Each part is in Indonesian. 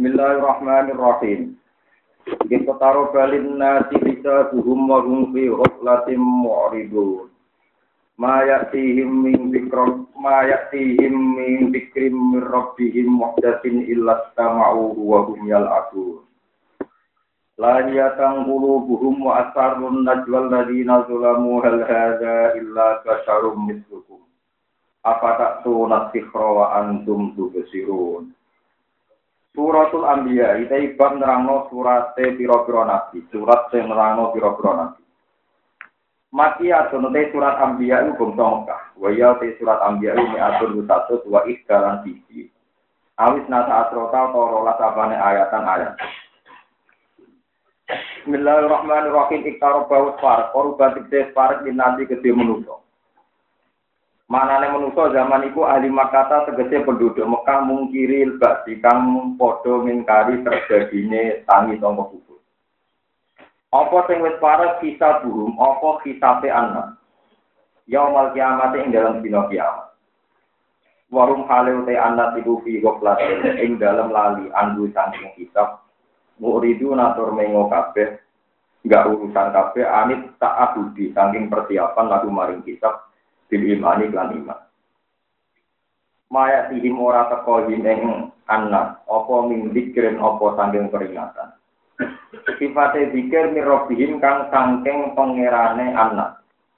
Bismillahirrahmanirrahim. Kita taruh balin nasi bisa buhum wa hum fi ghaflatin mu'ridun. Ma ya'tihim min dzikrim min rabbihim muhdatsin illa istama'u wa hum yal'abun. La yatang qulubuhum wa asarrun najwal ladina zalamu hal hadza illa basyarum mislukum. Afata'tuna sikhra wa antum tubsirun. Suratul Anbiya iki bab nerangno surate pira-pira nabi, surat sing nerangno pira-pira nabi. Makiyah sunate surat Anbiya iku bangsa Mekah. Wa ya surat Anbiya ini atur satu wa ikdalan siji. Awis nata asrota rolas abane ayatan-ayat. Bismillahirrahmanirrahim. Iktarabau far, korban tikde far dinanti gede manusa. Manane manusa zaman iku ahli Makkah tegese penduduk Mekah mungkiri ba'di kang padha ngingkari terjadine tangi sangka kubur. Apa sing wis parek kisah burung, apa kisabe anak. Yaumul kiamat ing dalam dina kiamat. Warum halil te anak iku fi ghaflatin ing dalam lali andu saking hisab. Muridu natur mengo kabeh, enggak urusan kabeh anit tak abudi saking persiapan lagu maring hisab. Bil imani lan iman. Maya tihim ora teko ing anak, apa min zikrin apa saking peringatan. Sifate zikir mirobihim kang saking pangerane anak.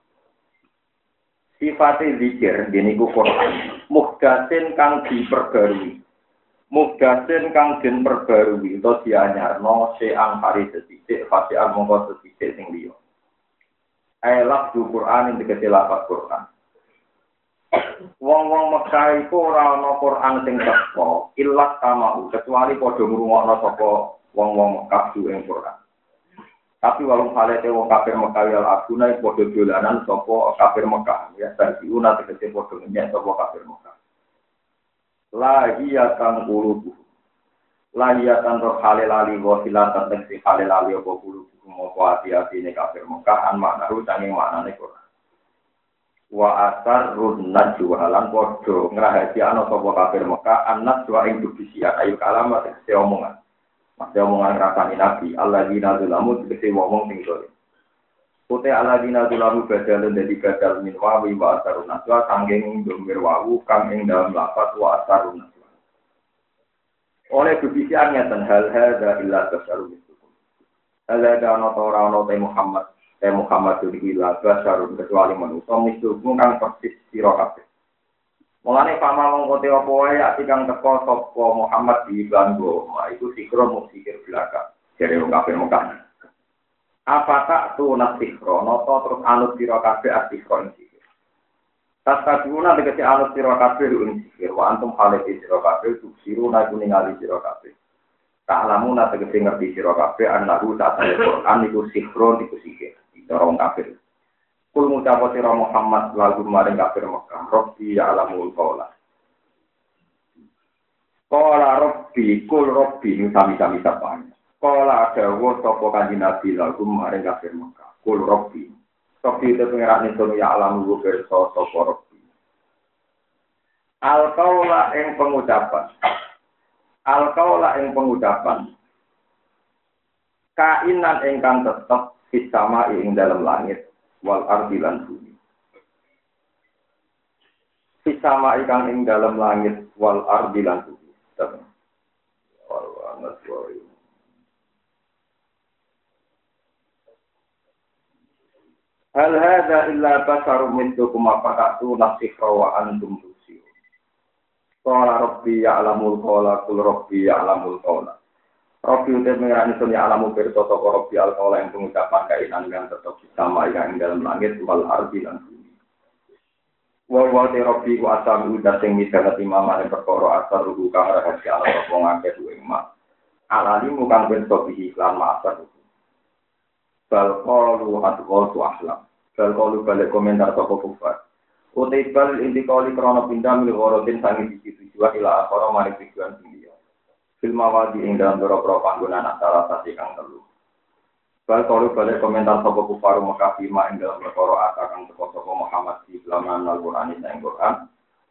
Sifate zikir deniku Quran, muhdatsin kang diperbarui. Muhdatsin kang den perbarui utawa dianyarno seang hari sethithik, fasian mongko sethithik sing liya. Ayat Quran ing tegese lafaz Quran. Wong-wong Mekah iku ora ana Quran sing teko, illas kamau kecuali padha ngrungokno sapa wong-wong Mekah ing Quran. Tapi walung halete wong kafir Mekah ya abuna padha dolanan sapa kafir Mekah, ya sarfiuna tegese padha nyek sapa kafir Mekah. Lahiyatan qulubu. Lahiyatan roh halali wa silatan tegese halali apa qulubu apa ati-atine kafir Mekah an maknaru saking maknane Quran. Wa asarrun najwa lan padha ngrahasiakno sapa kafir Mekah anas wa ing bisiat ayu kalamat tegese omongan. Masih omongan rasane Nabi alladzina zalamu tegese wong sing dolim. Pote alladzina zalamu badalun dadi badal min wa asarrun najwa sanging domir wawu kang ing dalam lafaz wa asarrun najwa. Oleh bisiat ngeten hal hadza illa tasarruf. Ala dana ora ana Muhammad iki laga sarun kecuali manusa mesti kang persis sira kabeh. Mulane pama mongko te apa wae ati kang teko sapa Muhammad di Banggo, iku sikro mung sikir belaka. Jare wong kabeh Mekah. Apa tak tu nasikro, napa terus anut sira kabeh ati kok sikir. Tasabuna tegese anut sira kabeh ing sikir, wa antum halati sira kabeh tuksiruna kuningali sira kabeh. Ta'lamuna tegese ngerti sira kabeh annahu ta'ala Quran iku sikro iku sikir. Orang kafir. Kul ngucap sira Muhammad lagu maring kafir Mekah, Rabbi ya'lamul qaula. Qala Rabbi kul Rabbi sami-sami sapane. Qala dawuh sapa kanjeng Nabi lagu maring kafir Mekah, kul Rabbi. Rabbi itu pengerane sono ya'lamul pirsa sapa Rabbi. Al qaula ing pengucapan. Al qaula ing pengucapan. Kainan ingkang tetep sama ing dalam langit wal ardi lan bumi. Sama ingkang ing dalam langit wal ardi lan bumi. Hal hadza illa basharun mithlukum fa'tu nasikha wa antum tusirun. Qala rabbi ya'lamul qawla qul rabbi ya'lamul qawla. Rabbi udah mengerani sunya alamu berita toko Rabbi al-Qawla yang pengucapan kainan yang tetap sama yang dalam langit wal ardi dan bumi. Wawate Rabbi ku asal udah sing misalnya imam yang perkara asal rugu kang rahasia ala toko ngake duwe emak. Alali mukang bentuk iklan ma'asar rugu. Balqalu hadqaltu ahlam. Balqalu balik komentar toko kufar. Utai bal intikali krono pindah milik orotin sangi bisi tujuan ila akhara maring tujuan tinggi. Filmawadi ing dalam beberapa panggungan antara sasi kang telu. Kalau balik komentar sapa kufar Mekah ing dalam perkara kang teko sapa Muhammad di laman Al-Qur'an ing Quran.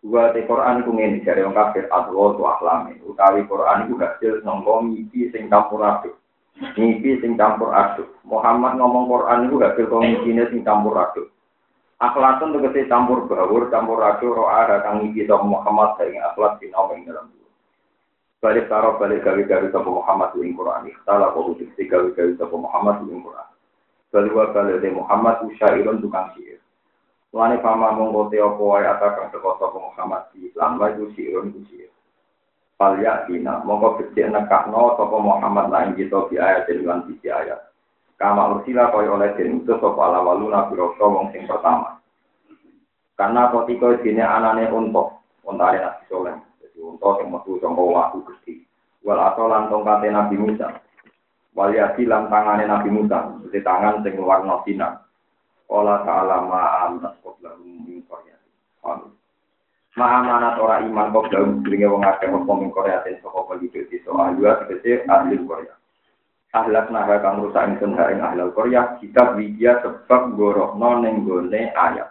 Dua te Quran iku ngene jare wong kafir adwa tu ahlame. Utawi Quran iku hasil sangka mimpi sing campur aduk. Mimpi sing campur aduk. Muhammad ngomong Quran iku hasil komikine sing campur aduk. Akhlakun tegese campur baur, campur aduk ro'a kang mimpi sapa Muhammad ing akhlak sing ana ing dalam. Balik karo balik gawe-gawe sapa Muhammad ing Quran. Ikhtala kok gawe-gawe sapa Muhammad ing Quran. Balwa balade Muhammad usyairun tukang syair. Lane pama monggo te apa wae atakang teko sapa Muhammad di lan wae syairun syair. Palya dina monggo becik nekakno sapa Muhammad lan kita di ayat lan siji ayat. Kama ursila koyo oleh den utus sapa alawaluna biro wong sing pertama. Karena ketika dene anane unta Nabi Soleh. Jadi unta sing metu saka waku Gusti. Wal atolan tongkate Nabi Musa. Waliati lan tangane Nabi Musa, di tangan sing warna sinar. Ola ta'ala ma'am naskop lahum min koryati. Ma'amanat ora iman kok dalam dirinya wong akeh apa min koryatin saka penduduk desa ahliwa tegese ahli Korea. Ahlak naha kang rusak ingsun ing ahli Korea, kitab widya sebab gorohno ning gone ayat.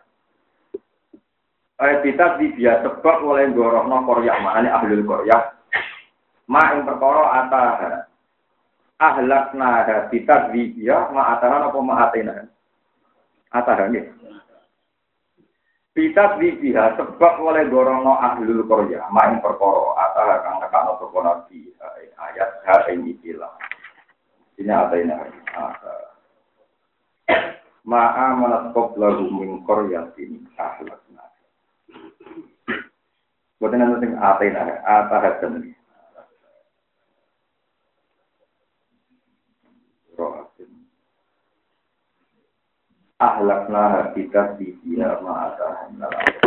Kitab widya sebab oleh gorohno Korea, maknane ahli Korea. Ma ing perkara atah ahlakna habitat widya ma'atahan apa ma'atena atahan ya bitat widya sebab oleh gorono ahlul korya main perkara atah kang nekano sapa nabi ayat ha ing ikilah ini atena ma'a manasqab lahu min qaryatin ahlakna boten ana sing atena atahan ahlakna habitat di dia ma'atahan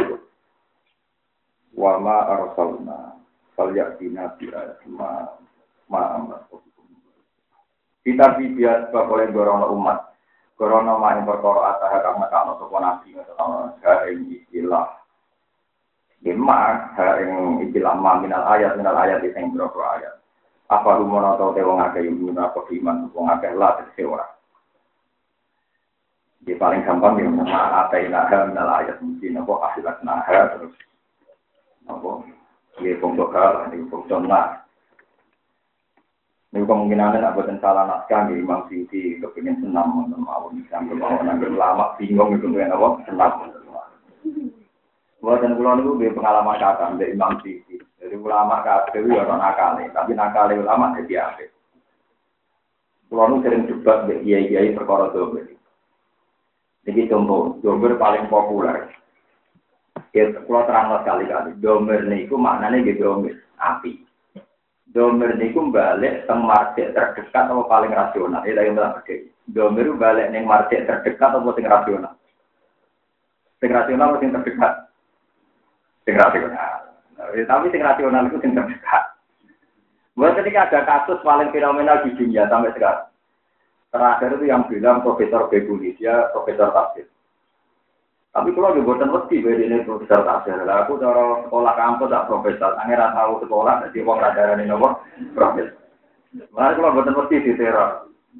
wa ma arsalna falyatina bi'at ma'amat kita bibiat sebab oleh gorono umat gorono ma'in perkara atah kang nekakno sapa nabi ha ing istilah istilah minal ayat sing berapa ayat apa rumono tau te wong akeh iman apa iman wong akeh lah sewa. Di paling gampang ya nama atainaha minal ayat mungkin apa ahlaknaha terus apa ya pondok hal ini pondok nah ini kemungkinan ada boten salah naskah di Imam Suyuti kepingin senam mau misam mau nanggur lama bingung itu kan apa senam buatan kula niku nggih pengalaman kata dari Imam Suyuti jadi ulama kabeh ya ora nakale tapi nakale ulama jadi apik kula nu sering debat mbek kiai-kiai perkara dober. Jadi contoh, domer paling populer. Ya, kalau terang sekali-kali, domer niku maknanya gitu domer api. Domer niku balik teng market terdekat atau paling rasional. Itu yang bilang begini. Domer balik neng market terdekat atau sing rasional. Sing rasional atau sing terdekat? Sing rasional. Tapi sing rasional itu sing terdekat. Buat ketika ada kasus paling fenomenal di dunia sampai sekarang. Terakhir itu yang bilang Profesor Beguni, dia Profesor Tafsir. Tapi kalau di buatan mesti ini Profesor Tafsir. Aku cara sekolah kampus tak Profesor. Angin tahu sekolah, jadi orang radaran ini apa? Profesor. Makanya kalau buatan mesti diteror.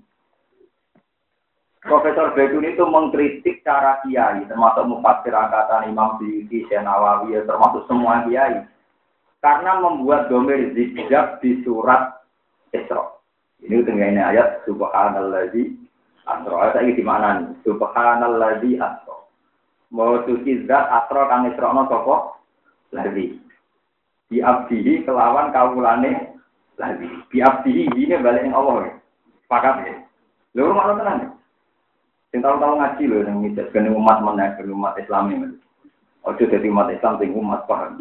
Profesor Beguni itu mengkritik cara kiai, termasuk mufassir angkatan Imam Suyuti, Syekh Nawawi, termasuk semua kiai. Karena membuat domer zikjab di surat Isra. Ini dengan ayat subhanalladzi asra. Ayat iki di mana nih? Subhanalladzi asra. Mau suci zat asra kang isrono sapa? Ladzi. Di abdihi kelawan kawulane ladzi. Di abdihi ini balik ning Allah. Sepakat ya. Lho makna tenan. Sing tahu-tahu ngaji lho ning misal umat meneh umat Islam iki. Ojo dadi umat Islam sing umat paham.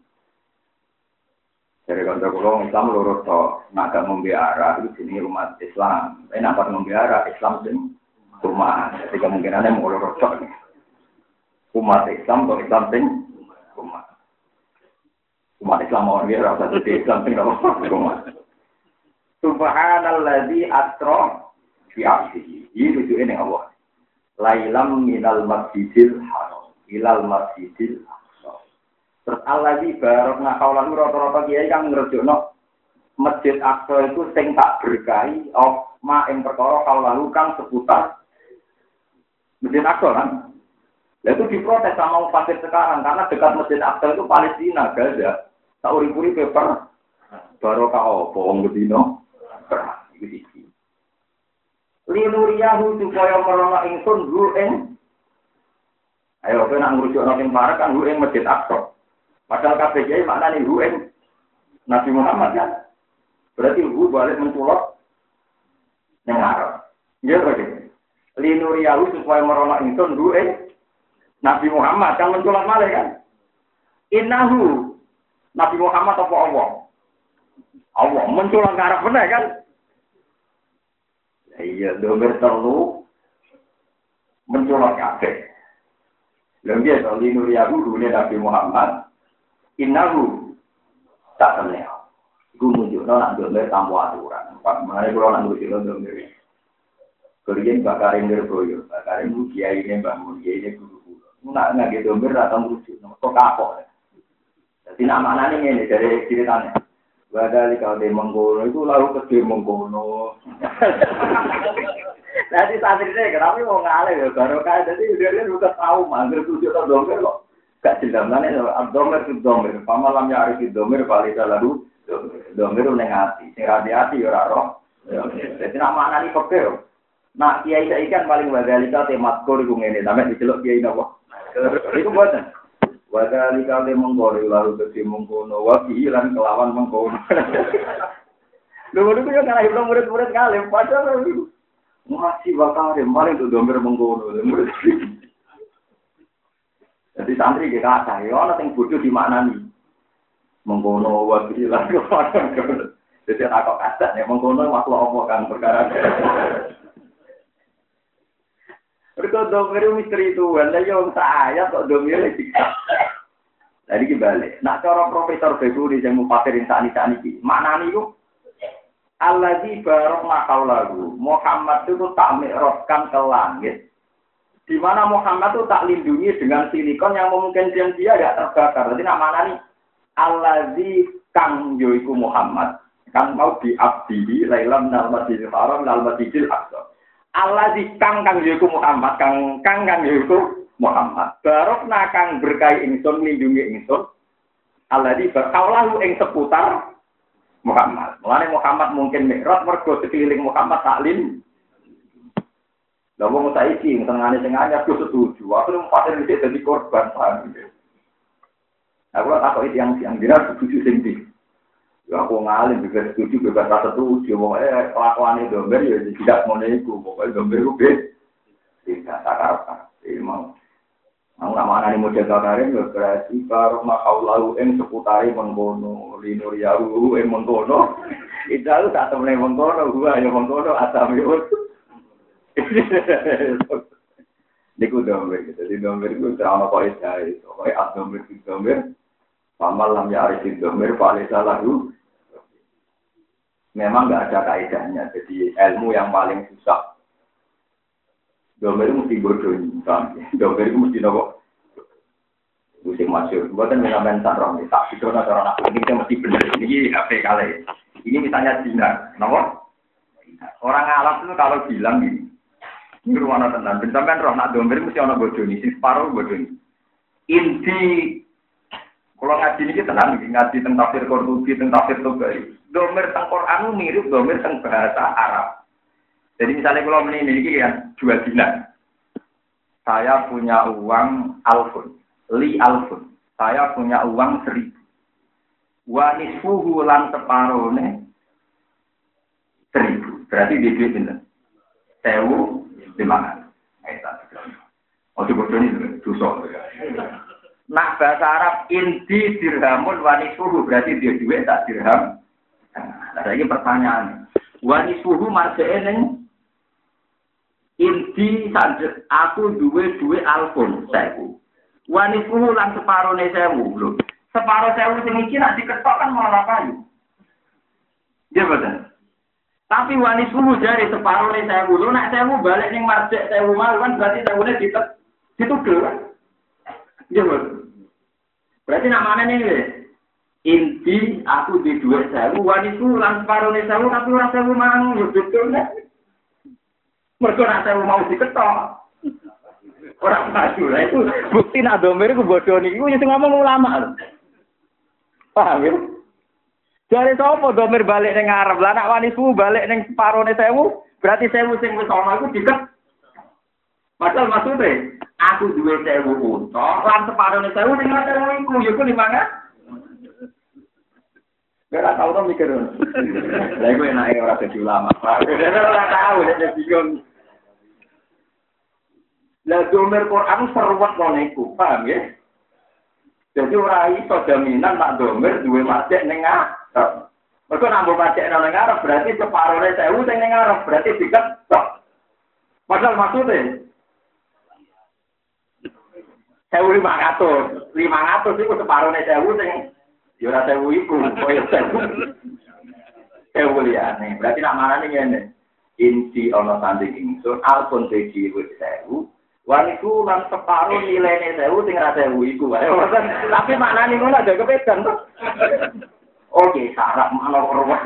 Dari kantor Islam lurus to, nak ngombe arah itu jenis umat Islam. Tapi nak ngombe arah Islam sing umat. Jadi kemungkinannya mau lurus to. Umat Islam atau Islam sing umat. Umat Islam mau dia rasa jadi Islam sing umat. Subhanalladzi asra bi 'abdihi. Ini tujuan yang Allah. Lailam minal masjidil haram ilal masjidil terus Allah-Ladzi barokna kaulan rata-rata kiai kang ngrejokno Masjid Aqsa itu sing tak berkahi ma ing perkara kaulan kang seputar Masjid Aqsa kan. Lah itu diprotes sama orang Pasir sekarang karena dekat Masjid Aqsa itu Palestina, Gaza. Tak uri-uri paper barokah apa wong bedino. Iki iki. Linuriyahu supaya merono ingsun hu ing. Ayo kowe nak ngurusno sing parek kan hu ing Masjid Aqsa. Padahal kabeh kiai maknane hu ing Nabi Muhammad kan. Berarti hu balik menculot nang arep. Nggih berarti. Linuriyahu supaya merono ingsun hu ing Nabi Muhammad kan menculot malih kan. Innahu Nabi Muhammad apa Allah? Allah menculot ngarep bener kan? Iya, domir telu menculot kabeh. Lha piye to linuriyahu rune Nabi Muhammad? Innahu tak temen. Iku nunjukno nak domir tanpa aturan. Pak menane kula nak ngurusi domir. Kuriyen bakaring Nirboyo, bakaring kiai ini Mbah Mun, kiai ini guru. Nak ngage domir atau ngurusi, kok kapok. Jadi nama nani ini dari ceritanya. Badali kalau dia mengkono itu lalu ke dia mengkono. Nanti saat ini kenapa mau ngalih ya baru kan jadi dia udah tahu manggil tujuh atau domir kok. Gak jelas mana domir itu domir. Pamalamnya hari itu domir paling lalu domir negati. Hati-hati ya roh. Jadi nama nani pekeh. Nah kiai saya ikan paling badali kalau temat kor itu ngene sampai diceluk kiai napa. Itu buatan. Wadali kali menggori lalu ke mengkono wabi lan kelawan mengkono. Dulu yang kalah itu murid-murid kali, padahal masih bakal paling tuh domber mengkono. Jadi santri kita saya orang yang bodoh di mana nih? Mengkono wabi lan kelawan. Jadi aku kata nih mengkono makhluk apa kan perkara. Berikut domir misteri itu, anda yang saya kok domir lagi. Tadi kembali. Nak cara Profesor Beguri yang mufasirin saat ini, makna itu Alladzi barok makau lagu. Muhammad itu tak mi'rajkan ke langit. Di mana Muhammad itu tak lindungi dengan silikon yang memungkinkan dia tidak terbakar. Jadi nak makna ini Alladzi kang yoiku Muhammad. Kan mau diabdi lailam nal masjidil haram nal masjidil aqsa. Allah di kang yaiku Muhammad kang yaiku Muhammad barok nakang berkahi ingsun lindungi ingsun Allah di berkaulahu ing seputar Muhammad. Mulane Muhammad mungkin mikrot mergo sekeliling Muhammad taklin. Lah wong saiki tengane sing anyar ku setuju. Aku nang paten iki dadi korban paham. Aku takoki yang dina setuju sing ndi. Ya aku ngalim juga setuju bebas rasa setuju. Pokoknya kelakuan itu domber ya tidak mau nego. Pokoknya domber itu tidak takar. Mau nama anak model kakarin berarti kalau makau lalu seputari mengkono linur yahu mengkono. Itu tak temen mengkono. Gua ya mengkono asam yud. Niku domber. Jadi domber itu terang apa itu? Pokoknya domber itu domber. Pamalam ya arif domber paling salah itu. Memang nggak ada kaidahnya, jadi ilmu yang paling susah. Domber itu mesti bodoh, domber itu mesti nopo. Musim masyur, buatan mengamen sarong, tak itu orang aku ini mesti benar. Ini HP kali. Ini misalnya Cina, nopo. Orang Arab itu kalau bilang gini, ini ruangan tenan. Bentar roh nak domber mesti orang bodoh nih, si separuh bodoh nih. Inti kalau ngaji ini tenang, ngaji tentang tafsir Qurtubi, tentang tafsir Tobari. Domir tentang Quran mirip domir tentang bahasa Arab. Jadi misalnya kalau ini kan 2 dinar. Saya punya uang alfun, li alfun. Saya punya uang 1.000. Wa nisfuhu lan separone 1.000. Berarti di duit pinten? 1.500. Oh sebetulnya ini dosa. Nak bahasa Arab inti dirhamun wa nisfuhu berarti dia duit tak dirham. Nah, ini pertanyaan. Wanisuhu marjane inti sanjek aku duwe alfun 1.000. Wanisuhu lan separone 1.000 lho. Separo 1.000 sing iki nek diketok kan malah kayu. Iya betul. Tapi wanisuhu jare separone 1.000 lho nek 1.000 balik ning marjek 1.000 mal kan berarti 1.000-ne ditudul. Iya betul. Berarti nak mana nih? Inti aku di 2.000, wanisu lan separone 1.000 tapi ora 1.000 mang, betul nek. Mergo nek 1.000 mau diketok. Orang maju lah itu bukti nak domir ku bodoh niku sing ngomong ulama. Paham ya? Dari sapa domir balik ning ngarep, lah nak wani suwu balik ning separone 1000, berarti 1000 sing wis ana iku diket. Padahal maksudnya aku duwe 1000 unta, lan separone 1000 ning ngarep iku ya ku 5. Ora tau to mikir. Lah iku enake ora dadi ulama. Ora tau nek bingung. Lah domir Quran seruwet ngono iku, paham ya? Jadi ora iso jaminan nak domir duwe masjid ning ngarep. Mergo nambah pajak nang ngarep berarti separone 1000 sing ning ngarep berarti diketok. Padahal maksudnya 1.500 iku separone 1000 sing ya ora 1000 iku koyo 1000 liyane. Berarti nak marani ngene. Inti ana tanding ingsun alpun teji wis 1000. Waniku lan separo nilene 1000 sing ora 1000 iku wae. Tapi maknane ngono aja kepedan to. Oke, sarap mana perwak.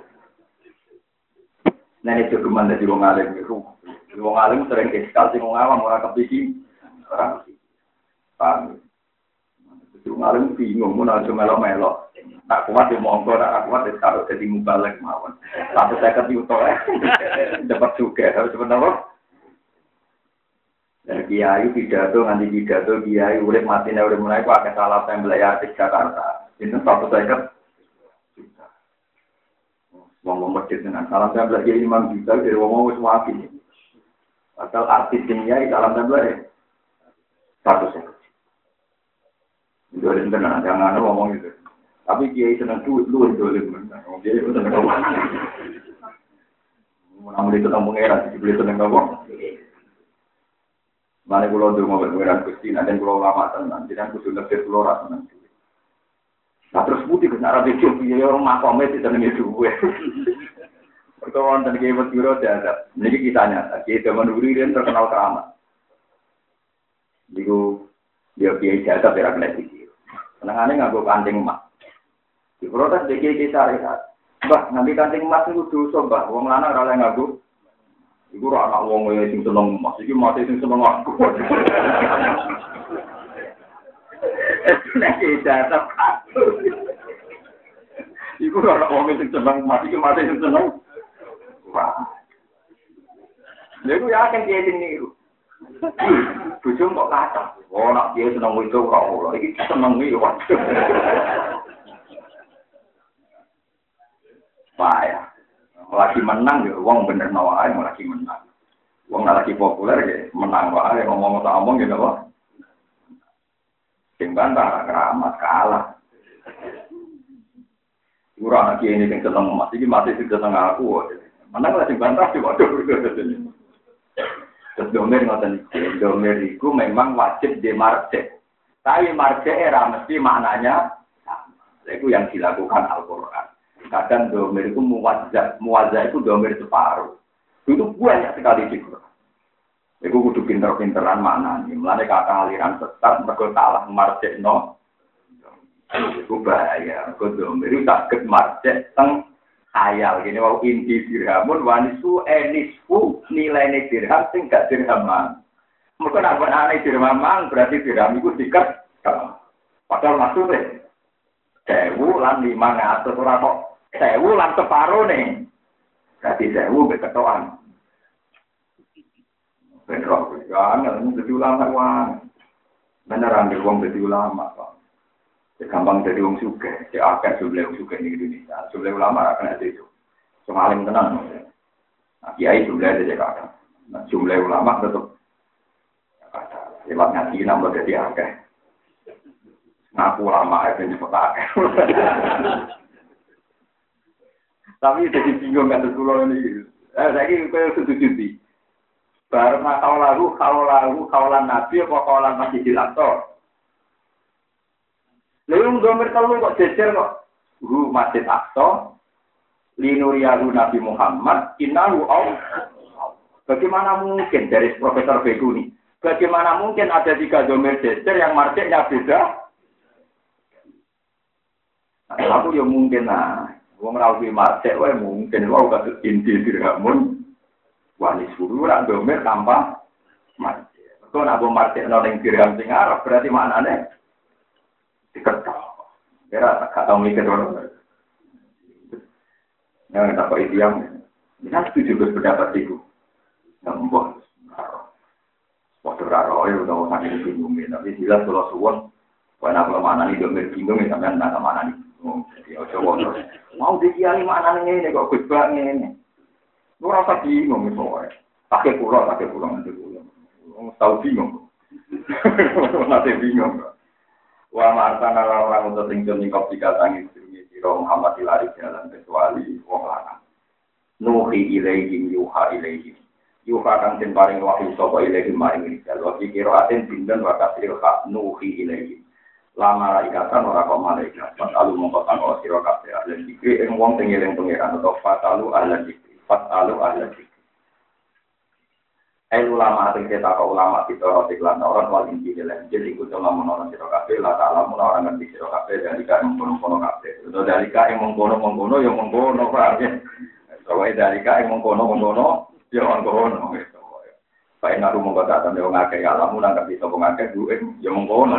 Nah, ini jogeman dari wong alim itu. Wong alim sering iskal sing wong awam ora kepiki. Ora kepiki. Paham. Wong alim bingung mun aja melo-melo. Tak kuat yo monggo, tak kuat wis karo dadi mubalek mawon. 150 juta dapat juga harus benar. Dan kiai pidato nganti pidato kiai urip matine urip mulai kok akeh salah tembel ya di Jakarta. Itu 150 ngomong masjid dengan salam tempel jadi Imam Juta dari ngomong wis wapi. Asal artis dunia salam tempel ya. Satu sekali. Itu ada benar, jangan ngomong gitu. Tapi kiai senang duit lu dolim benar. Dia itu senang ngomong. Mau beli tentang pengeran, beli tentang ngomong. Mana pulau tu mau pengeran Gusti, nanti pulau lama tenan, jangan kudu lebih pulau rasa nanti. Nah terus putih ke arah itu, ya orang makomnya tidak nengi duwe. Perkawan dan kiai berdua ada. Ini kita nyata, kiai zaman dulu dia terkenal keramat. Jadi dia kiai jasa berak lagi. Senangannya nganggo kancing emas. Di protes dia kiai syariat. Bah nanti kancing emas itu dosa bah. Wong lanang ora nganggo. Iku ora anak wong sing seneng emas, iki mate sing seneng aku. Nek jasa iku ora wong sing seneng mati mati sing seneng. Wah. Lha iku ya kan kiye sing niru. Bojo kok kacang. Oh nak kiye seneng itu kok ora. Iki seneng iki waduh. Wah ya. Lagi menang ya wong bener wae lagi menang. Wong lagi populer ya menang wae ngomong tak omong ya apa. Sing bantah keramat kalah. Ora ana kiye sing seneng emas iki mati sing seneng aku. Menang lah sing bantah sih waduh. Terus domir ngoten iki. Domir iku memang wajib di marjek. Tapi marjek era mesti maknanya sama. Itu yang dilakukan Al-Qur'an. Kadang domir itu muwazzah itu domir separuh. Itu banyak sekali di Qur'an. Iku kudu pinter-pinteran maknanya. Mulane kata aliran sesat mergo salah marjekno. Iku bahaya. Mergo domir itu saged marjek teng khayal gini wau inti dirhamun wanisu enisfu nilai dirham sing gak dirhaman. Mergo nek ana dirhaman berarti dirham iku diket. Padahal maksudnya 1000 lan 500 ora kok 1000 lan separo nih. Berarti 1000 beketokan. Benro jangan jadi ulama wae. Beneran di wong jadi ulama kok. Gampang jadi wong sugih, ya akeh jumlah wong sugih di Indonesia. Jumlah ulama akan ada itu. Semaling tenang. Nah, kiai jumlah ada kakak. Nah, jumlah ulama tetap ada. Lewat ngaji nambah jadi akeh. Ngaku ulama itu nyebut akeh. Tapi jadi bingung kan pulau ini. Saya kira setuju. Baru kaulan nabi apa kaulan Masjidil Aqsa. Lalu domir telu kok jejer kok. Masjid Aqsa, linuriyahu Nabi Muhammad, innahu Allah. Bagaimana mungkin dari Profesor Beguni? Bagaimana mungkin ada 3 domir jejer yang marjeknya beda? Nah, aku ya mungkin wong rawi marjek wae mungkin wae kados inti dirhamun. Wani suruh rak domir tanpa marjek. Kok nak martekno ning dirham sing Arab berarti maknane diketok. Kira tak tahu mikir orang. Yang tak kok ideam. Ini setuju berpendapat itu. Nambah. Waktu raro itu udah sangat bingung. Tapi jelas kalau suwon, karena kalau mana nih domir bingung, sampai nggak mana nih. Jadi coba terus. Mau dikiali mana nih ini kok gusbak ini. Lu rasa bingung misalnya. Pakai pulau nanti pulau. Tahu bingung. Nanti bingung. Wa ma'artana orang untuk tinggal di kopi katangi siro Muhammad ilari jalan kecuali wong lanang. Nuhi ilaihim yuha ilaihim. Yuha kang den paring wahyu sapa ilaihim maring rijal. Wa kira aten dinten wa kasril hak nuhi ilaihim. La malaikatan ora kok malaikat. Fatalu mongko tanggo sira kabeh lan dikri ing wong sing eling pangeran atau fatalu ala dikri. Fatalu ala dikri. Ulama ating kita kau ulama kita roti kelan orang wali jadi ikut dalam menolak siro kafe lah dalam orang ngerti siro kafe dari kau mengkono kafe itu dari kau yang mengkono yang mengkono berarti soalnya dari kau yang mengkono yang mengkono Pak Naru mengkata tanda orang akeh alamu nangkep bisa mengakai duit yang mengkono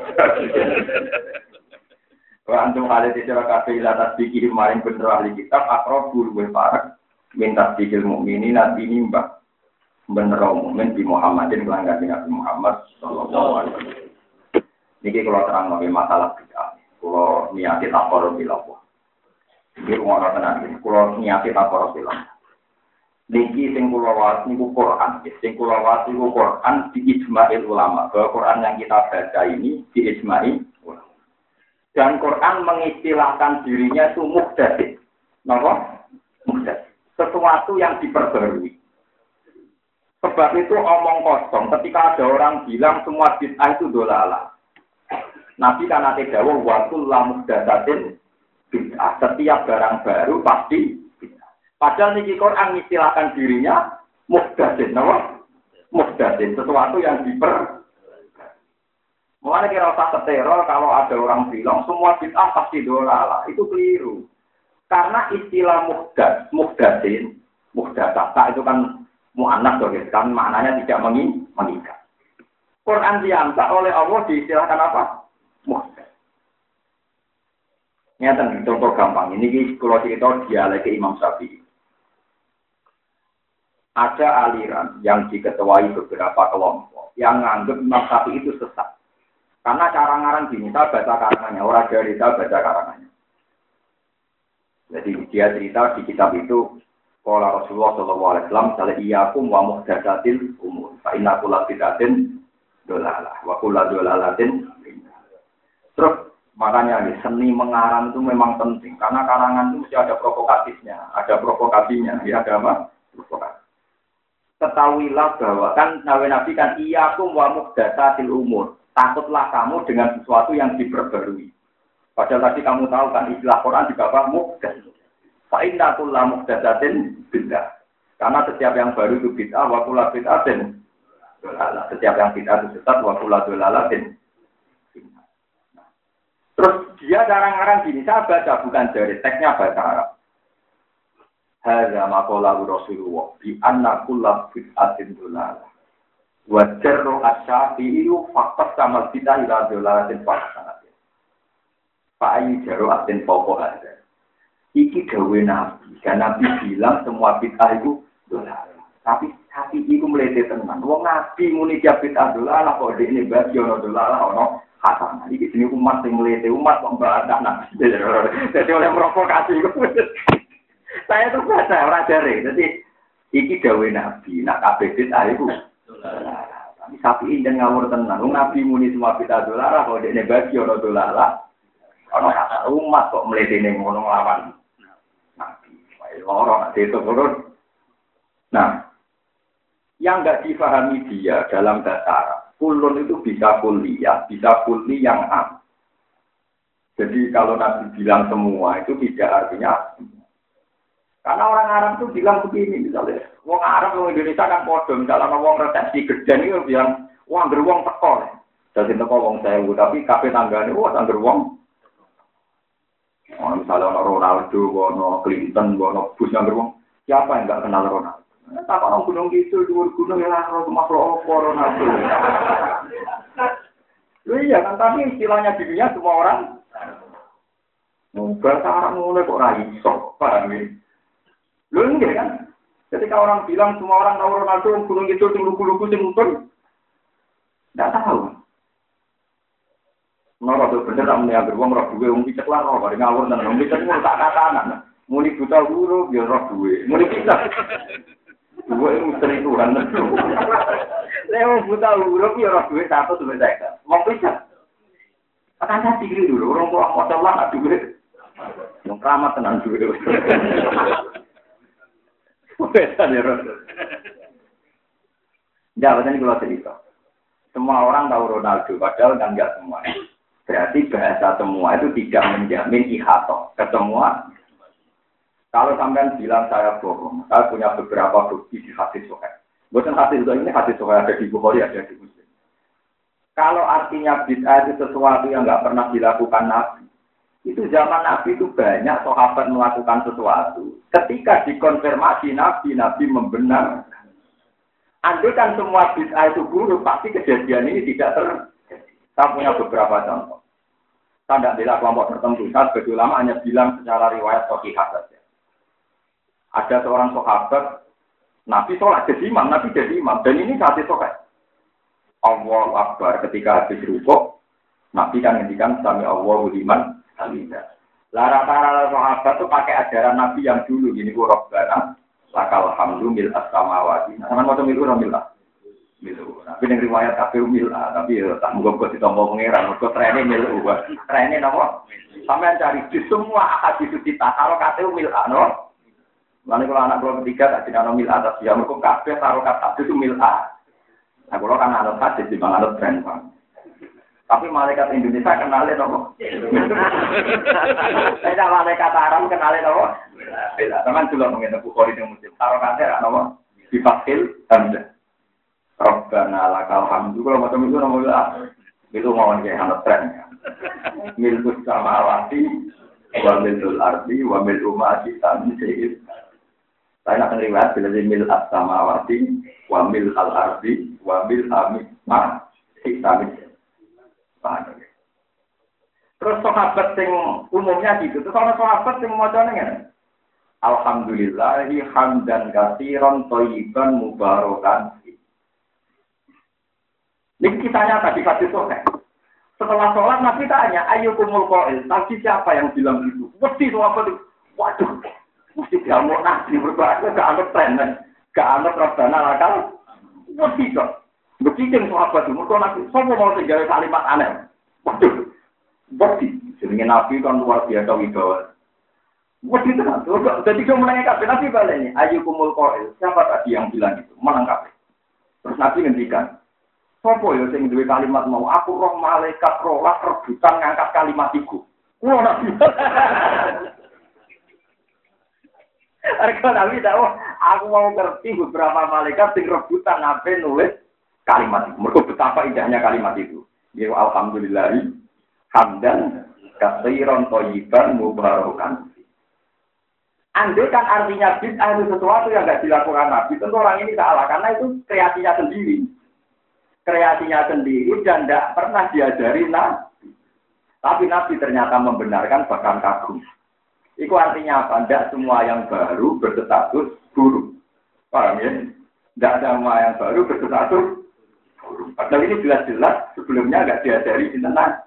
kalau antum ada di siro kafe latas pikir maring bener ahli kitab akrobul befarak minta pikir mukminin nanti nimbang bener umum di Muhammadin pelanggan Nabi Muhammad sallallahu alaihi wasallam. Niki kalau terang nabi masalah bid'ah. Kalau niati takor bilawa. Niki ngono tenan iki. Kalau niati takor bilawa. Niki sing kula waos niku Quran. Sing kula waos niku Quran di ijma'il ulama. Bahwa Quran yang kita baca ini di ijma'i ulama. Dan Quran mengistilahkan dirinya itu muhdatsits. Napa? Muhdatsits. Sesuatu yang diperbarui. Sebab itu omong kosong ketika ada orang bilang semua bid'ah itu dolalah. Nabi kan ate dawuh wa kullu muhdatsatin bid'ah. Setiap barang baru pasti bid'ah. Padahal niki Quran mengistilahkan dirinya muhdatsin, napa? Muhdatsin, sesuatu yang Mulane kira usah teror kalau ada orang bilang semua bid'ah pasti dolalah. Itu keliru. Karena istilah muhdatsin, muhdatsah itu kan mu'annas kan maknanya tidak mengikat. Quran diangkat oleh Allah diistilahkan apa? Muhdatsah. Nyata contoh gampang. Ini kalau cerita dialek Imam Syafi'i. Ada aliran yang diketuai beberapa kelompok yang menganggap Imam Syafi'i itu sesat. Karena cara ngarang gini, saya baca karangannya, orang dari saya baca karangannya. Jadi dia cerita di kitab itu Qala Rasulullah sallallahu alaihi wasallam sala iyyakum wa muhdatsatil umur. Fa inna kulla bid'atin dolalah wa kulla dolalatin. Terus makanya nih seni mengarang itu memang penting karena karangan itu mesti ada provokatifnya, ada provokasinya, ya ada apa? Provokasi. Ketahuilah bahwa kan Nabi kan iyyakum wa muhdatsatil umur. Takutlah kamu dengan sesuatu yang diperbarui. Padahal tadi kamu tahu kan istilah Quran juga apa? Muhdats. Fa inna kulla muhdatsatin bid'ah. Karena setiap yang baru itu bid'ah wa kullu bid'atin dolalah. Setiap yang bid'ah itu sesat wa kullu dolalatin. Terus dia garang-garang gini, saya baca bukan dari teksnya bahasa Arab. Hadza maqala Rasulullah bi anna kullu bid'atin dolalah. Wa jarru asy-syafi'i faqat sama bid'ah ila dolalatin faqat. Fa ayu jarru atin fawqa hadza. Iki gawe Nabi, kan Nabi bilang semua bid'ah itu dolar. Tapi itu melete tenan. Wong Nabi muni dia bid'ah dolar, kok dekne bagi ono dolar ono hasanah. Iki jenenge umat sing melete, umat kok mbantah Nabi. Jadi oleh provokasi. Saya tuh baca ora jare. Jadi iki gawe Nabi, nak kabeh bid'ah itu dolar. Tapi sapi den ngawur tenan. Wong Nabi muni semua bid'ah dolar, kok dekne bagi ono dolar. Ono hasanah umat kok melete ning ngono lawan. Lorong itu turun. Nah, yang nggak difahami dia dalam bahasa Arab, kulun itu bisa kuliah, bisa kuli yang am. Jadi kalau Nabi bilang semua itu tidak artinya semua. Karena orang Arab itu bilang begini, misalnya, wong Arab, wong Indonesia kan bodoh, misalnya wong resepsi geden itu bilang, wong beruang tekol. Jadi teko wong sewu, tapi kafe tanggane, wong beruang. Misalnya Ronaldo, Clinton, Bush yang beruang, siapa yang nggak kenal Ronaldo? Tak orang gunung gitu, dua gunung yang harus makhluk opor nabi. Iya kan tapi istilahnya di dunia semua orang. Bahasa Arab mulai kok raiso, paham ya? Lu enggak kan? Ketika orang bilang semua orang tahu Ronaldo gunung itu lugu-lugu sing tidak tahu. Nora tuh bener tak meniak beruang roh duwe wong picek lah roh bareng ngawur nang wong picek mulu tak katanan. Muni buta huruf ya roh duwe. Muni picek. Duwe misteri Tuhan. Leo buta huruf ya roh duwe satu sampai saya. Wong picek. Akan saya pikir dulu orang tua modal lah duwe. Wong keramat tenan duwe. Beda ya roh. Ya, betul kalau cerita. Semua orang tahu Ronaldo, padahal kan enggak semua. Berarti bahasa semua itu tidak menjamin ihato ke semua. Kalau sampean bilang saya bohong, saya punya beberapa bukti di hadis sahih. Bukan hadis itu ini hadis sahih ada di Bukhari, ada di Muslim. Kalau artinya bid'ah itu sesuatu yang enggak pernah dilakukan Nabi, itu zaman Nabi itu banyak sahabat melakukan sesuatu. Ketika dikonfirmasi Nabi membenarkan. Andai kan semua bid'ah itu buruk, pasti kejadian ini tidak terjadi. Saya punya beberapa contoh. Saya tidak bela kelompok tertentu. Saya sebagai ulama hanya bilang secara riwayat sahihah saja. Ada seorang sahabat, Nabi sholat jadi imam, Nabi jadi imam. Dan ini hadis sahih. Allahu Akbar ketika habis rukuk, Nabi kan ngendikan sami Allahu liman hamidah. Rata-rata sahabat itu pakai ajaran Nabi yang dulu. Ini Rabbana lakal hamdu mil as-samawati. Sama macam itu milah. Milu. Tapi yang riwayat kafir milah, tapi tak mungkin kok ditompo pangeran, kok trene milu. Trene napa? Sampeyan cari di semua hadis kita kalau kate milah, no. Lalu kalau anak keluar ketiga tak dikano milah atas ya mergo kabeh karo kata itu milah. Nah, kalau kan anut hadis di bang anut tren, Bang. Tapi malaikat Indonesia kenalin apa? Saya malaikat Arab kenalin apa? Beda. Teman juga mengenai Bukhari yang Muslim. Taruh kata apa? Difakil hamzah. Rabbana lakal hamdu. Kalau macam itu namanya itu mau kayak anak tren. Milkus samawati, wa milul ardi, wa mil umati tanzil. Saya nak riwayat bila mil as-samawati, wa mil al-ardi, wa mil amima tanzil. Terus sahabat yang umumnya gitu, terus orang sahabat yang macamnya kan, alhamdulillahi hamdan katsiran thayyiban mubarakan. Ini kisahnya tadi hadis sahih. Setelah sholat Nabi tanya, ayyukumul qail, tadi siapa yang bilang itu? Mesti sahabat itu, waduh, mesti dia mau nasi berbahagia, gak anut tren, gak anut Rabbana lakal, mesti kok. Begitu sahabat itu, mereka Nabi, semua mau tinggal kalimat aneh. Waduh, bukti. Jadi Nabi kan luar biasa wibawa. Bukti itu kan. Jadi dia menanyakan, Nabi baliknya, ayyukumul qail, siapa tadi yang bilang itu? Menangkap. Terus Nabi ngendikan, sopo ya sing duwe kalimat mau, aku roh malaikat rolah rebutan ngangkat kalimat iku. Kulo Nabi. Arek Nabi tahu, aku mau ngerti beberapa malaikat sing rebutan nabe nulis kalimat itu. Mergo betapa indahnya kalimat itu. Ya alhamdulillah hamdan katsiran thayyiban mubarakan. Andai kan artinya bid'ah itu sesuatu yang enggak dilakukan Nabi, tentu orang ini salah karena itu kreasinya sendiri. Kreasinya sendiri dan tidak pernah diajari Nabi. Tapi Nabi ternyata membenarkan bahkan kagum. Itu artinya apa? Tidak semua yang baru berstatus buruk. Paham ya? Tidak ada semua yang baru berstatus buruk. Padahal ini jelas-jelas sebelumnya nggak diajari di tenang.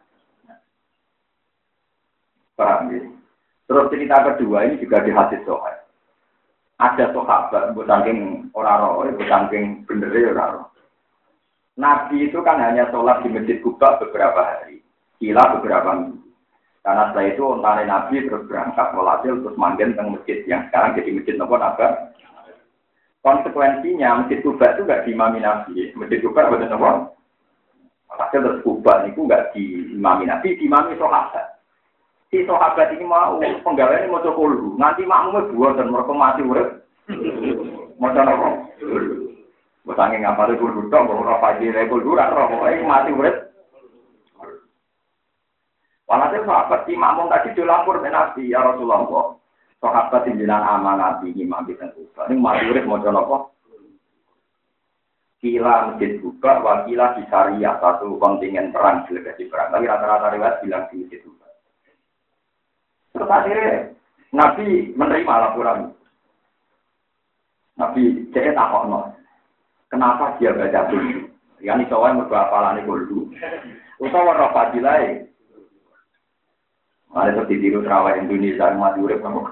Paham ya? Terus cerita kedua ini juga di hadis sahih. Ada sahabat, saking orang-orang, saking bener orang. Nabi itu kan hanya sholat di Masjid Kuba beberapa hari, kila beberapa minggu. Karena setelah itu ontare Nabi terus berangkat walhasil terus manggen teng masjid yang sekarang jadi Masjid Nabawi. Konsekuensinya Masjid Kuba itu nggak diimami Nabi. Masjid Kuba betul apa? Walhasil terus Kuba itu nggak diimami Nabi, diimami sahabat. Si sahabat ini mau penggaweane mau coba dulu. Nanti makmumnya buat dan mereka mati urip. Mau coba apa? Bosange ngapal kudu tok, ora pagi rekul ora roh, mati urip. Walhasil sahabat si makmum tadi dilapor ke Nabi, ya Rasulullah. sahabat pimpinan amanat iki mangke teng Kuba. Ning maturip maca napa? Kila masjid Kuba, wakila di Syariah, satu kontingen perang, delegasi perang. Tapi rata-rata riwayat bilang di masjid Kuba. Terus akhirnya Nabi menerima laporan. Nabi cek takokno. Kenapa dia baca dulu? Yani soalnya mergo apalane dulu. Utawa ora fadilae. Ada seperti tiru terawih Indonesia umat urip nang.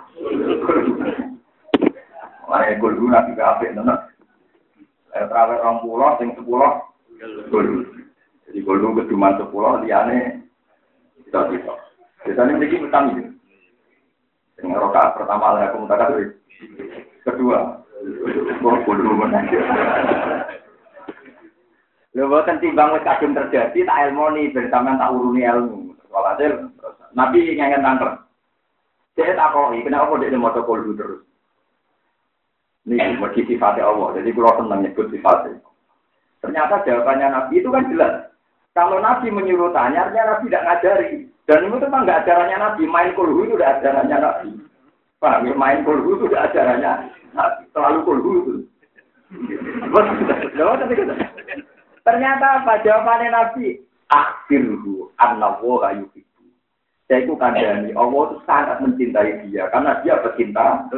Mare dulu Nabi kabeh tenan. Terawih 20 sing 10 dulu. Jadi dulu keduman 10 liyane kita. Biasanya mriki utang iki. Sing rakaat pertama lah aku mutak kedua. Dulu menang. Lha boten timbang wis kadung terjadi tak ilmoni bersama tak uruni ilmu. Walhasil Nabi ngengen tangker. Saya takoki kenapa dia maca kulhu terus. Ini mergi sifatnya Allah. Jadi kalau senang nyebut sifatnya. Ternyata jawabannya Nabi itu kan jelas. Kalau Nabi menyuruh tanya, artinya Nabi tidak ngajari. Dan itu memang nggak ajarannya Nabi. Main kulhu itu udah ajarannya Nabi. Paham ya? Main kulhu itu udah ajarannya Nabi. Selalu kulhu itu. Ternyata apa jawabannya Nabi? Akhirhu annallaha yuhibbu. Saya itu kandani Allah itu sangat mencintai dia karena dia pecinta.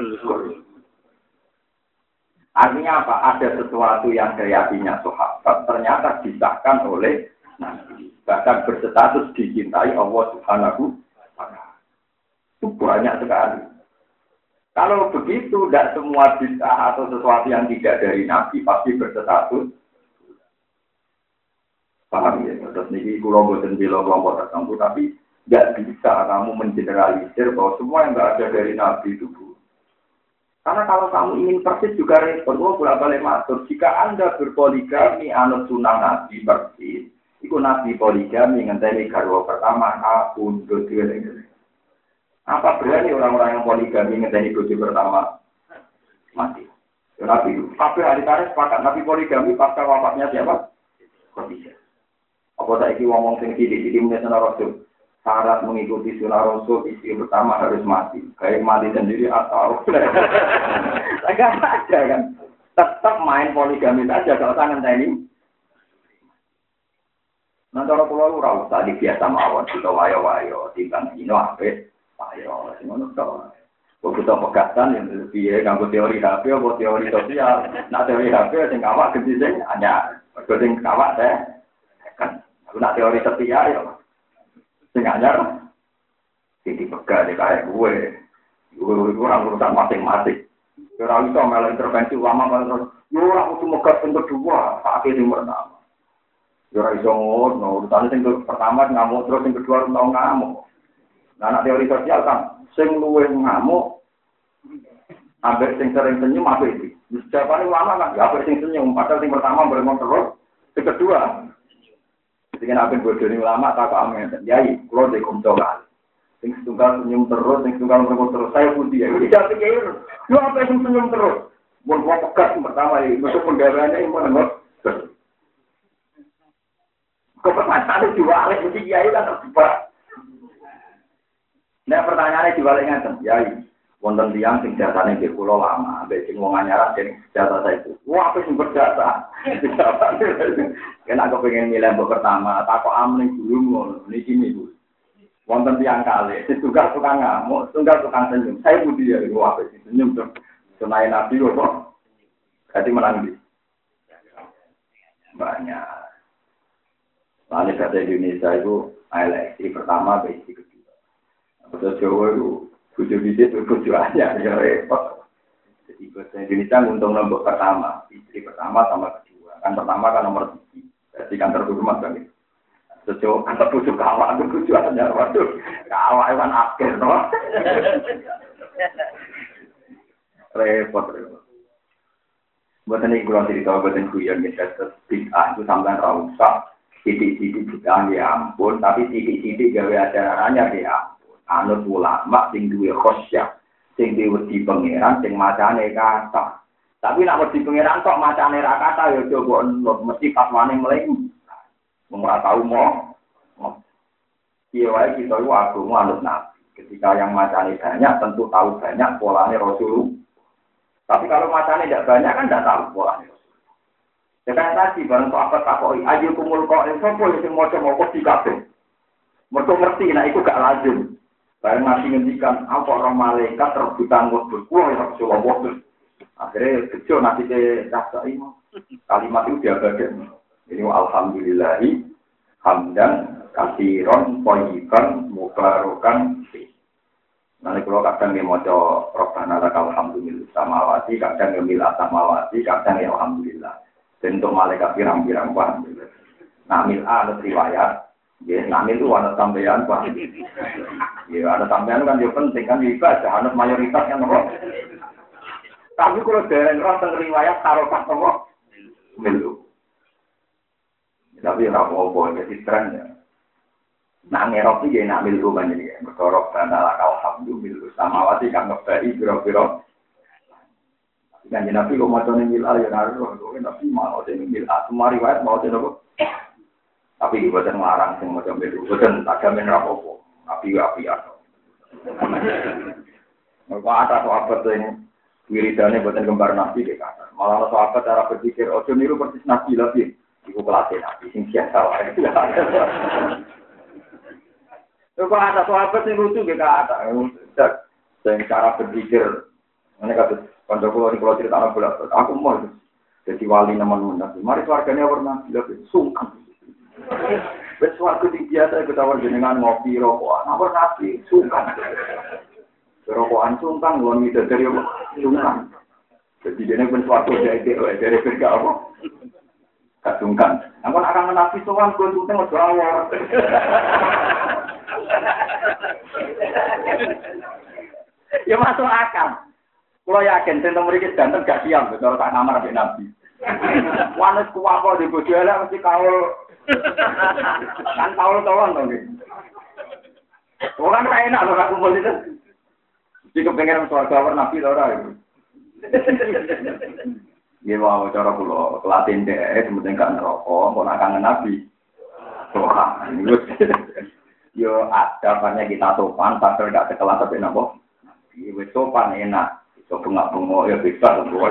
Artinya apa? Ada sesuatu yang kreasinya sahabat ternyata disahkan oleh Nabi. Bahkan berstatus dicintai Allah Subhanahu wa Ta'ala. Itu banyak sekali. Kalau begitu, tidak semua bid'ah atau sesuatu yang tidak dari Nabi pasti berstatus. Paham ya? Terus ini kalau bosan bila kelompok tertentu, tapi tidak bisa kamu mengeneralisir bahwa semua yang tidak ada dari Nabi itu buruk. Karena kalau kamu ingin persis juga respon, bolak-balik matur. Jika Anda berpoligami anut sunnah Nabi persis, itu Nabi poligami ngenteni garwa pertama, akun, dodo, apa berani orang-orang yang poligami ngenteni dodo pertama mati? Ya, Nabi itu. Tapi hari tarik sepakat Nabi poligami pasca wafatnya siapa? Khadijah. Apa saiki ngomong sing sithik-sithik menyang Rasul. Syarat mengikuti sunnah Rasul istri pertama harus mati. Kayak mati sendiri atau agak aja kan. Tetap main poligami saja kalau tangan ini. Nanti orang pulau ora usah dibiasa mawon kita wayo-wayo timbang dino apik wayo sing ngono to. Kok kita pegatan yang piye kanggo teori HP apa teori sosial. Nah teori HP sing awak gede sing anyar. Mergo sing awak teh kan. Nak teori setia ya. Sing anyar iki pegat kaya gue. Gue orang urusan masing-masing. Ora iso melu intervensi ulama kan. Yo ora kudu megat sing kedua, sak sing pertama. Yo ora iso ngono, urusan sing pertama ngamuk terus sing kedua tau ngamuk. Nah, anak teori sosial kan sing luwih ngamuk ambek sing sering senyum apa iki? Jawabane ulama kan ya ambek sing senyum, padahal sing pertama beremon terus, sing kedua sing apa bodoni ulama tak amen. Yai, kulo de kumtokan. Sing setunggal senyum terus, sing setunggal beremon terus, saya putih ya. Tidak pikir, yo apa sing senyum terus? Mun kok pekat pertama iki, masuk pendarahannya yang menengok. Kepercayaan diwalik mesti kiai kan terjebak. Nah pertanyaannya diwalik ngaten, kiai. Wonten tiyang sing jasane nggih kula lama, ambek sing wong anyaran sing jasa itu. Wah, apa sing berjasa? Kena kepengin milih mbok pertama, takok amne dulu ngono. Niki niku. Wonten tiyang kalih, setunggal tukang ngamuk, setunggal tukang senyum. Saya budi ya, wah apa sing senyum to. Sunai Nabi kok. Kati menang iki. Banyak. Lalu kata Indonesia itu eleksi pertama, eleksi kedua. Kata Jawa itu bujo bidit, bujo aja, ya repot. Jadi bahasa Indonesia untung nombor pertama, istri pertama sama kedua. Kan pertama kan nomor 3, jadi kan terhormat kan. Jawa kan bujo kawak, bujo aja, waduh. Kawak kan akhir, no? Repot. Buatan ini kurang cerita, buatan kuyon, misalnya, bid'ah itu sampai rausak. Titik-titik kita ya ampun, tapi titik-titik gawe ajarannya ya ampun. Anut ulama sing duwe khosyah, sing duwe wedi pangeran, sing macane kata. Tapi nek wedi pangeran kok macane ra kata ya coba mesti fatwane mleng. Wong ora tau mo. Piye wae kita iku agama anut Nabi. Ketika yang macane banyak, tentu tahu banyak polanya Rasul. Tapi kalau macane tidak banyak kan tidak tahu polanya Rasul. Sekarang tadi barang sahabat takoi, ayo kumul kok sopo yang mau di kafe. Mereka ngerti, nah itu gak lazim. Barang Nabi ngendikan, apa orang malaikat rebutan berkuah yang Rasulullah. Akhirnya kecil nanti ke rasa ini. Kalimat itu dia bagian. Ini alhamdulillahi hamdan kasiron thayyiban mubarakan fi. Nanti kalau kadang dia maca Rabbana lakal hamdu mil samawati, kadang dia mil samawati, kadang ya alhamdulillah. Dan untuk malaikat pirang-pirang paham. Nah, mil ada riwayat, ya, nah itu ada sampean paham. Ya, ada sampean kan dia penting kan ibadah, ada mayoritas yang apa. Tapi kalau dari orang riwayat taruh pas apa, mil. Tapi ora apa-apa jadi trennya. Nah ngerok iki nak milu banyak ya. Berkorok dan alakal alhamdulillah samawati kang ngebaki pira-pira. Dan Nabi kok macane milal ya harus kok Nabi mau dene milal semua riwayat mau dene kok. Tapi boten larang sing maca milu. Boten tagamen ra apa-apa. Api-api ato. Mergo ada sahabat sing wiridane boten kembar Nabi ke kata. Malah sahabat cara berpikir ojo niru persis Nabi lagi. Iku kelasnya Nabi, sing biasa wae. Kalau ada sahabat yang lucu, kita ada. Dengan cara berpikir, ini kata kancaku kalau cerita anak bulan, aku mau jadi wali namun Nabi. Mari keluarganya warna lebih sungkan. Sesuatu yang biasa kita warga ngopi rokokan, namun Nabi sungkan. Rokokan sungkan, luar biasa dari sungkan. Jadi dia pun suatu dari kerja apa? Kasungkan. Aku akan menafi soal gue sungkan udah awal. Ya masuk akal. Kalau yakin tentang mereka ganteng gak siap, kalau tak kamar sampai Nabi. Wanes kuwako di bojo elek mesti kaul. Kan kaul-kaulan to nggih. Orang ra enak lho aku kumpul itu. Jika pengen swarga Nabi to ora. Ya mau cara kula kelatin dhek sementing gak neraka, kok nak kangen Nabi. Wah, yo ada banyak kita sopan, padahal gak sekelas sampai napa. Wis sopan enak, iso bengak-bengok ya bisa kok.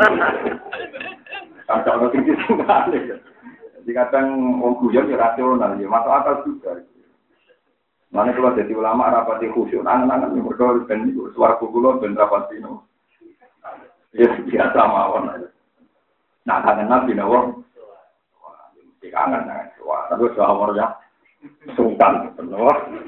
Kan ono sing disungane. Jadi kadang wong guyon ya rasional, ya masuk akal juga. Mane kalau jadi ulama rapati khusyuk, angan-angan mergo ben swarga kula ben rapati no. Ya biasa mawon. Nah, kangen Nabi nawa. Wah, mesti kangen kan. Wah, tapi sahur ya. Sungkan bener.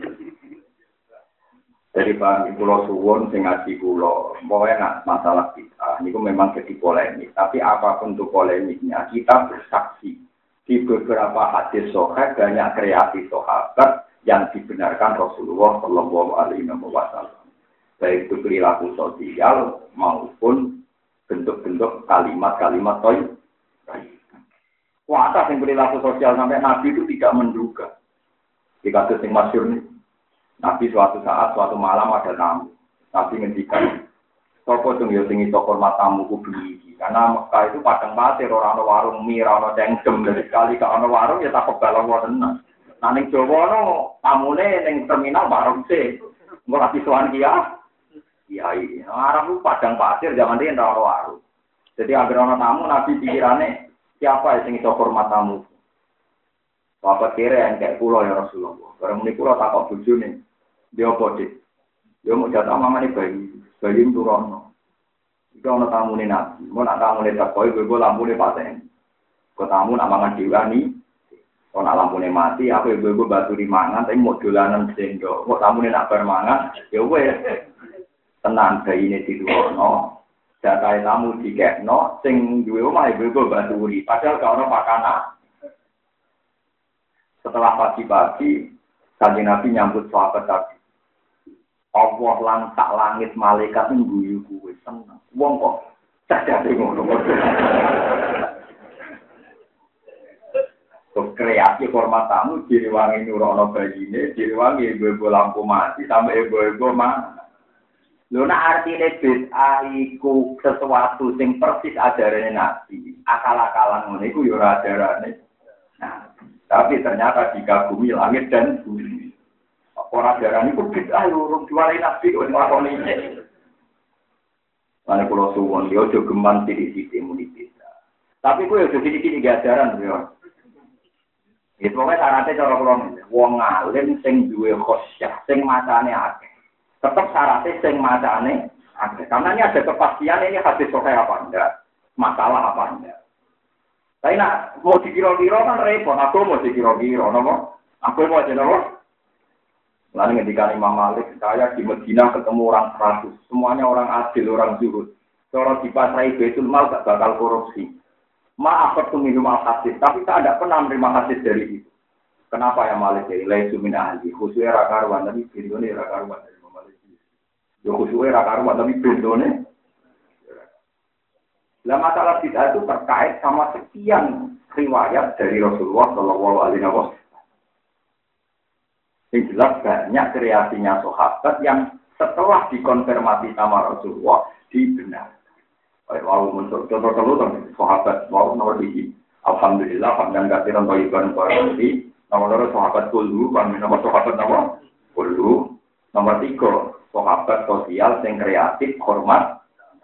Dari Pak Pulau Suwon sing ngaji kula, pokoke nak masalah kita niku memang jadi polemik, tapi apapun itu polemiknya, kita bersaksi di beberapa hadis sahih banyak kreasi sahabat yang dibenarkan Rasulullah sallallahu alaihi wasallam. Baik itu perilaku sosial maupun bentuk-bentuk kalimat-kalimat toy. Kuasa yang perilaku sosial sampai Nabi itu tidak menduga. Di kasus yang masyhur ini, Nabi suatu saat, suatu malam ada tamu. Nabi ngendikan, "Sopo sing yo sing iso hormat tamu ku bengi." Karena Mekah itu padang pasir, ora ana warung mie, ora ana cengkem, dari sekali gak ana warung ya tak kebal wonten. Nah ning Jawa no tamune ning terminal warung sih. Engko ati sowan kia. Kiai, Arab itu padang pasir, zaman dia tidak waru. Jadi agar orang tamu, Nabi pikirannya siapa yang ingin hormat tamu? Bapak kira yang kayak pulau ya Rasulullah. Barang ini pulau tak kau tuju nih, dia bodit. Dia mau jatuh mama nih bayi itu rono. Itu orang tamu nih Nabi, mau nak tamu nih tak kau, gue lampu nih paten. Kau tamu nak mangan diwani, kau nak lampu nih mati, aku gue batu di mangan, tapi mau dolanan sendok. Kau tamu nih nak bermangan, ya gue. Tenang bayi ini diduono, data tamu dikekno, sing duwe omah ibu baturi, padahal gak ono pakana. Setelah pagi-pagi, Kanjeng Nabi nyambut sahabat tadi. Allah lantak langit malaikat ngguyu kuwe seneng. Wong kok cacate ngono. Kreasi hormat tamu direwangi nurono bayine, direwangi ibu-ibu lampu mati sampai ibu-ibu mana. Lho nek artine bid'ah iku sesuatu sing persis ajarane Nabi, akal-akalan ngene iku ya ora ajarane. Nah, tapi ternyata dikagumi langit dan bumi. ora darani ku bid'ah urung diwali nabi kok nglakoni iki. Mane kula suwun yo aja geman sithik-sithik muni beda. Tapi kuwi aja sithik-sithik ajaran yo. Itu pokoknya syaratnya cara kula wong alim sing duwe khosyah, sing macane akeh. Tetep syaratnya sing macane akeh. Karena ini ada kepastian ini hadis sahih apa enggak, masalah apa enggak. Tapi nak mau dikira-kira kan repot, aku mau dikira-kira, nopo? Aku mau aja nopo? Lalu ketika Imam Malik, saya di Medina ketemu orang 100, semuanya orang adil, orang zuhud. Kalau di pasrai Baitul Mal gak bakal korupsi. Maaf minum al-hadis, tapi saya tidak pernah menerima hadis dari itu. Kenapa ya Malik? Laisu min ahli, khususnya rakaruan, tapi bidone rakaruan dari Imam Malik. Ya khususnya rakaruan, tapi bidone. Nah masalah bid'ah itu terkait sama sekian riwayat dari Rasulullah Shallallahu Alaihi Wasallam. Yang jelas banyak kreasinya sahabat yang setelah dikonfirmasi sama Rasulullah dibenarkan. Wow, untuk contoh sahabat wow nomor tiga. Alhamdulillah, hamdan katsiran thayyiban barokati. Nomor 2 sahabat kullu, nomor sahabat nomor kullu. Nomor 3 sahabat sosial yang kreatif, hormat.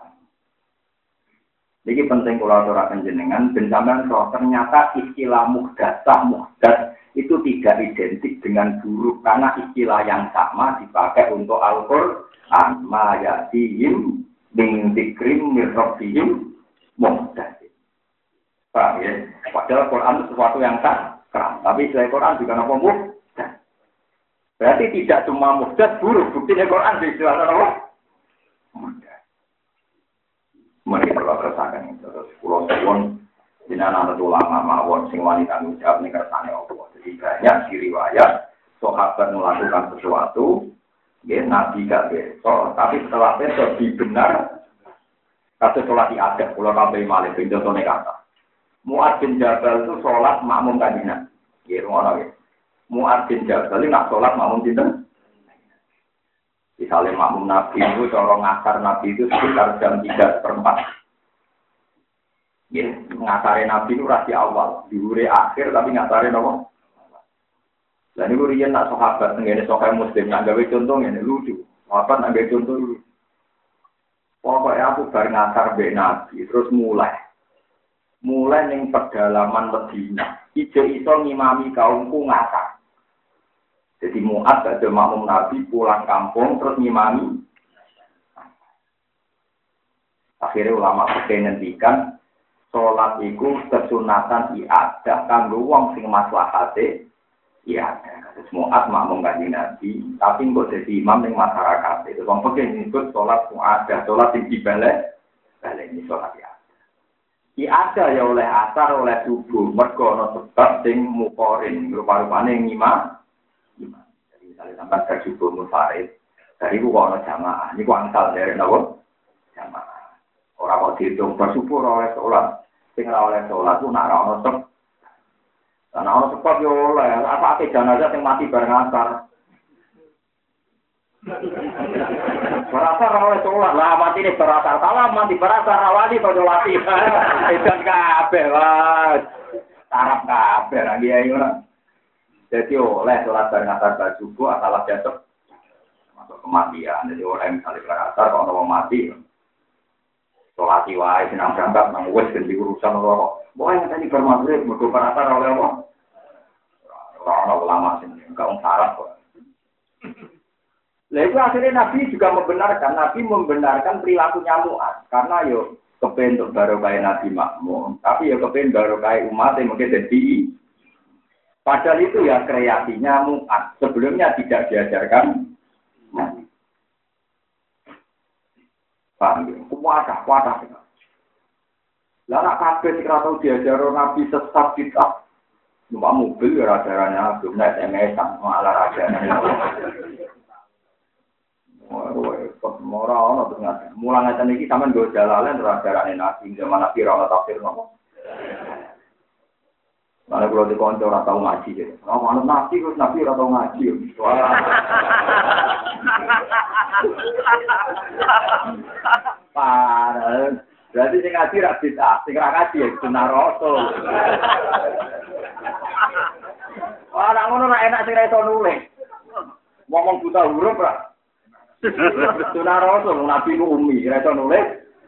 Ini penting kalau aturaken jenengan, benjaman roh ternyata istilah muhdatsah itu tidak identik dengan buruk karena istilah yang sama dipakai untuk Al-Qur'an. Ma yatihim min dzikrim mir rabbihim muhdatsin. Paham ya? Padahal Quran itu sesuatu yang sakral, tapi selain Quran juga apa muhdatsah. Berarti tidak cuma muhdatsah buruk, buktinya Quran dijelaskan apa? Muhdatsah. Mereka perlu terasakan itu. Terus pulau suwon jenengan anak ulama mawon sing wani tanggung jawab ning kersane Allah. Jadi banyak di riwayat sahabat melakukan sesuatu, nggih nabi gak besok, tapi setelah besok dibenar kata sholat diadab, pulau kabeh malih contohnya kata. Mu'adz bin Jabal itu sholat makmum kanjeng. Nggih ngono nggih. Mu'adz bin Jabal nak sholat makmum sinten? Misalnya makmum Nabi itu, corong ngasar Nabi itu sekitar jam 3/4. Ya, ngasarin Nabi itu rasi awal, diure akhir tapi ngasarin apa? Dan itu rian nak sahabat, ini sahabat muslim, nak gawe contoh ini lucu. Sahabat nak gawe contoh lucu. Pokoknya aku bar ngasar be Nabi, terus mulai ning pedalaman Medina. Ijo-iso ngimami kaumku ngasar. Jadi Mu'adz ada makmum Nabi pulang kampung terus ngimami. Akhirnya ulama fikih ngendikan salat iku kesunatan iadah kanggo wong sing maslahate iadah. Terus Mu'adz makmum kanjeng Nabi, tapi kok dadi imam ning masyarakat. Itu wong fikih nyebut salat mu'adah, salat sing dibalik ini salat iadah. Iadah ya oleh asar oleh subuh, mergo ana sebab sing mukorin, rupa-rupane ngimam. Jadi misalnya sampai ke subuh munfarid, dari itu kalau jamaah, ini kuantal dari apa? Jamaah. Orang kok dihitung bersubuh oleh sholat, tinggal oleh sholat itu nak orang sebab, karena orang sebab ya oleh apa jenazah yang mati bareng asar. Berasar oleh sholat lah mati ini berasar, salah mati berasar awali pada mati, edan kabeh lah, tarap kabeh lagi ayo lah. Jadi oleh sholat bareng asar subuh asal jatuh masuk kematian. Jadi oleh misalnya berasar kalau orang mati sholat wae senang berangkat nang wis ganti urusan orang. Boleh yang tadi bermagrib mergo berasar oleh apa? Orang ulama sini enggak syarat kok. Lah itu akhirnya Nabi juga membenarkan perilakunya Mu'adz karena yo kepen untuk barokah Nabi makmum, tapi yo kepen barokah umat yang mungkin jadi. Padahal itu ya kreasinya Mu'adz. Sebelumnya tidak diajarkan Nabi. Paham ya? Wadah. Lah nak kabeh sing ora tau diajaro Nabi sesat bid'ah. Numpak mobil ya ajarannya belum naik SMS-an malah ajarannya. Ora ono ternyata. Mulang ngeten iki sampean go jalalen ora ajarane Nabi zaman Nabi ora tafsir napa. Mana kalau di konco orang tahu ngaji je. Kalau manut nabi orang tahu ngaji. Parah. Berarti sing ngaji ra bid'ah, sing ra ngaji ya sunah rasul. Ora ngono ra enak sing ra iso nulis. Ngomong buta huruf ra. Sunah Rasul Nabi ku umi, ora iso nulis.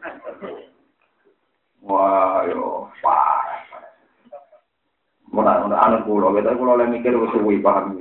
Wah, yo parah. Mun anak kula le mikir wis suwi paham.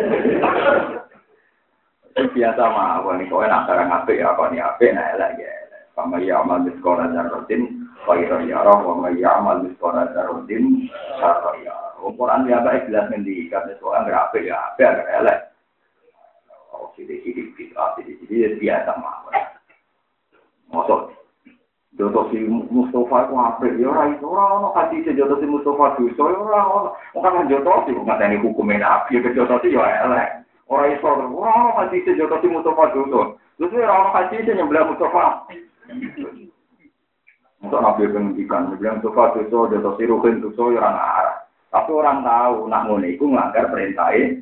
Biasa mah wong iki enak barang apik ya kok ni apik nek elek ya. Sama ya amal di sekolah darutin, kaya ya roh, sama ya amal di sekolah darutin, kaya. Ukuran dia baik jelas nanti karena sekolah berapa ya, apa elek. Oh, sidik biasa mah. Masuk. Jodoh si Mustafa itu apa? Ya orang hati si jodoh si Mustafa itu, orang kan jodoh sih, nggak ada hukumnya nabi, jodoh sih ya elek. Orang Islam, orang hati si jodoh si Mustafa itu, terus orang hati si nyembelih Mustafa. Untuk nabi pendidikan, bilang Mustafa itu jodoh si Ruhin itu orang arah. Tapi orang tahu nak ngono iku nglanggar perintah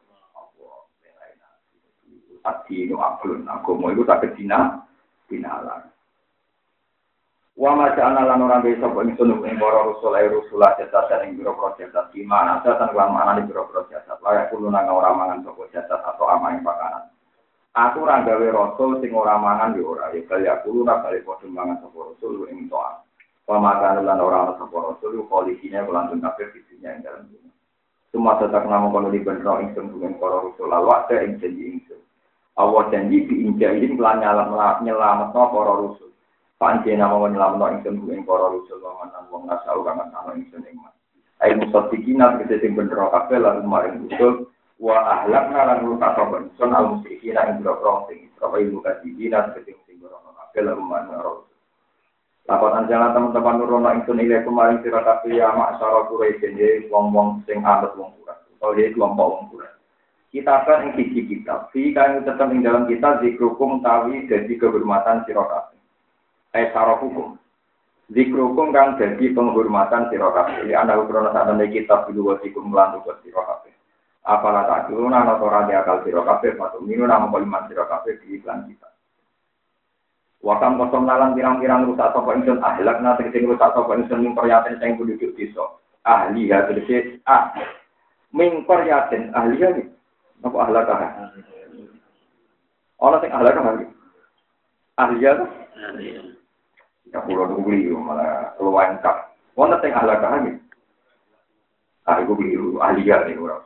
Ati no aklun, agama iku tak kedina dinalar. Wa ma ja'alna lan ora bisa kok ingsun ing para rasul jasa ing biro proses di mana jasa lan mana di biro proses layak kulo nang ora mangan sapa jasa atau amaing pakanan. Aku ora gawe rasul sing ora mangan yo ora ya kaya kulo nak kali padha mangan sapa rasul ing toa. Pemakan lan ora sapa rasul kondisinya kelanjut kafir fisinya ing dalam dunia. Semua tetap nama kono di benro ingsun dengan para rasul lalu ada ing janji ingsun. Allah janji diinjain kelan nyelametno para rasul. Panci nama nyelametno ingsun dengan para rasul lan wong nasau kang ana ingsun ing mas. Ai musaddiqina kete sing benro kabeh lan maring rasul wa ahlakna lan rusak ingsun al musyrikina ing boro sing Israil mukadzibina kete sing boro kabeh lan maring rasul. Laporan jalan teman-teman nurono ingsun ile kemarin sira kabeh ya masyarakat Quraisy wong-wong sing anut wong Quraisy. Oh ya kelompok wong Quraisy. Kita kan ing siji kitab, fi kang tetep ing dalam kita zikrukum tawi dadi kehormatan sira kabeh. Syarat hukum. Zikrukum kang dadi penghormatan sira kabeh. Ana ukrono sakmene kitab dulu wasikum lan tugas sira kabeh. Apalah tak ana ora akal sira kabeh patu minu nama kalimat sira kabeh di iklan kita. Wakam kosong nalang pirang-pirang rusak sapa ingsun ahlakna tegese rusak sapa ingsun ing qaryatin sing penduduk desa. Ahli ya tegese min qaryatin ahli ya iki. Apa ahlakah? Ana sing ahlakah iki. Ahli ya. Ya kulo nunggu malah keluwen kap. Wonten sing ahlakah iki. Aku biru ahli ya iki ora.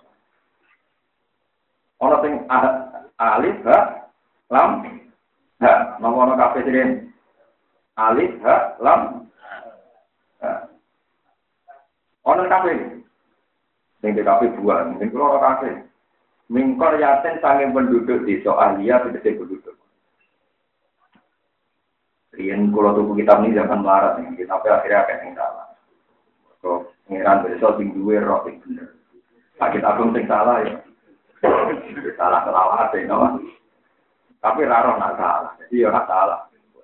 Ana sing alif ha lam ha, nomor kafe sini alif ha lam ha. Ono kafe, sing kafe buah, sing keluar kafe. Mingkor yaten sange penduduk di Soalia tegese penduduk. Riyen kula tuku kitab ini zaman melarat nih, kitabnya akhirnya akeh sing salah. Kok ngiran besok sing duwe roh sing bener. Sakit agung sing salah ya. Salah kelawat ya, no? Tapi raro nak salah, jadi orang salah.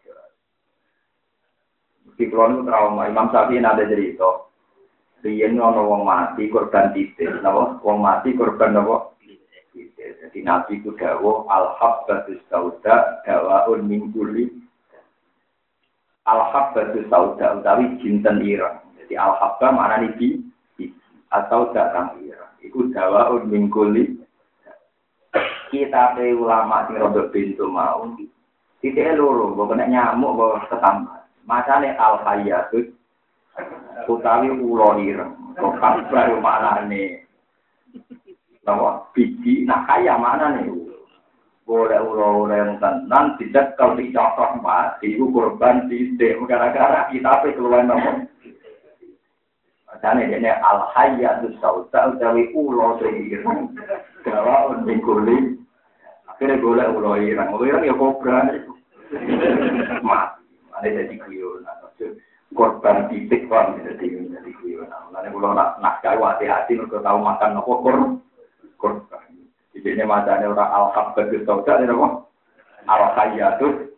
Di kulon trauma Imam Syafi'i ada cerita. Riyen ana wong mati korban titik, napa? Wong mati korban napa? Titik. Jadi Nabi ku dawuh al-habbatus sauda dawaun min kulli. Al-habbatus sauda utawi jinten ireng. Jadi al-habba maknane di atau datang ireng. Iku dawaun min kulli. Kita pe ulama sing rodok pintu mau. Titik loro, mbok nek nyamuk mbok ketambat. Macane al-hayyatut utawi ulo ireng. Kok kabar maknane. Lawa biji nak kaya maknane. Boleh ulo yang tenan tidak kalau dicocok mati iku korban sithik gara-gara kita pe keluwen nopo. Macane dene al-hayyatus sauda utawi ulo sing ireng. Dawa undikuli. Akhirnya boleh ulo ireng ya kobra. Mati. Ada jadi kuyon. Korban titik kan jadi kuyon. Lalu kalau nak kau hati-hati untuk tahu makan apa korban. Jadi ini macamnya orang al-habbatus sauda ini apa? Al-hayyatus.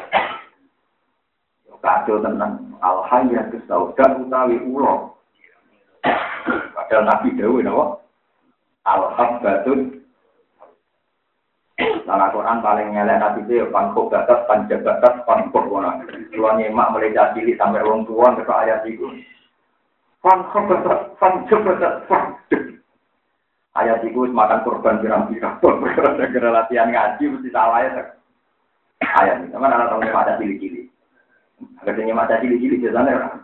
Kacau tentang al-hayyatus sauda utawi ulo. Padahal Nabi Dawud apa? Al-habbatus. Dalam Quran paling ngelak Nabi itu pangkok batas, panjabatas, pangkok orang. Tuan nyemak mulai cilik sampai orang tua ke ayat itu. Pangkok batas, panjabatas, pangkok. Ayat itu makan korban pirang-pirang. Gara-gara latihan ngaji mesti salah ya. Ayat ini. Sama anak tahu ada cili-cili. Akhirnya mata cili-cili biasanya kan.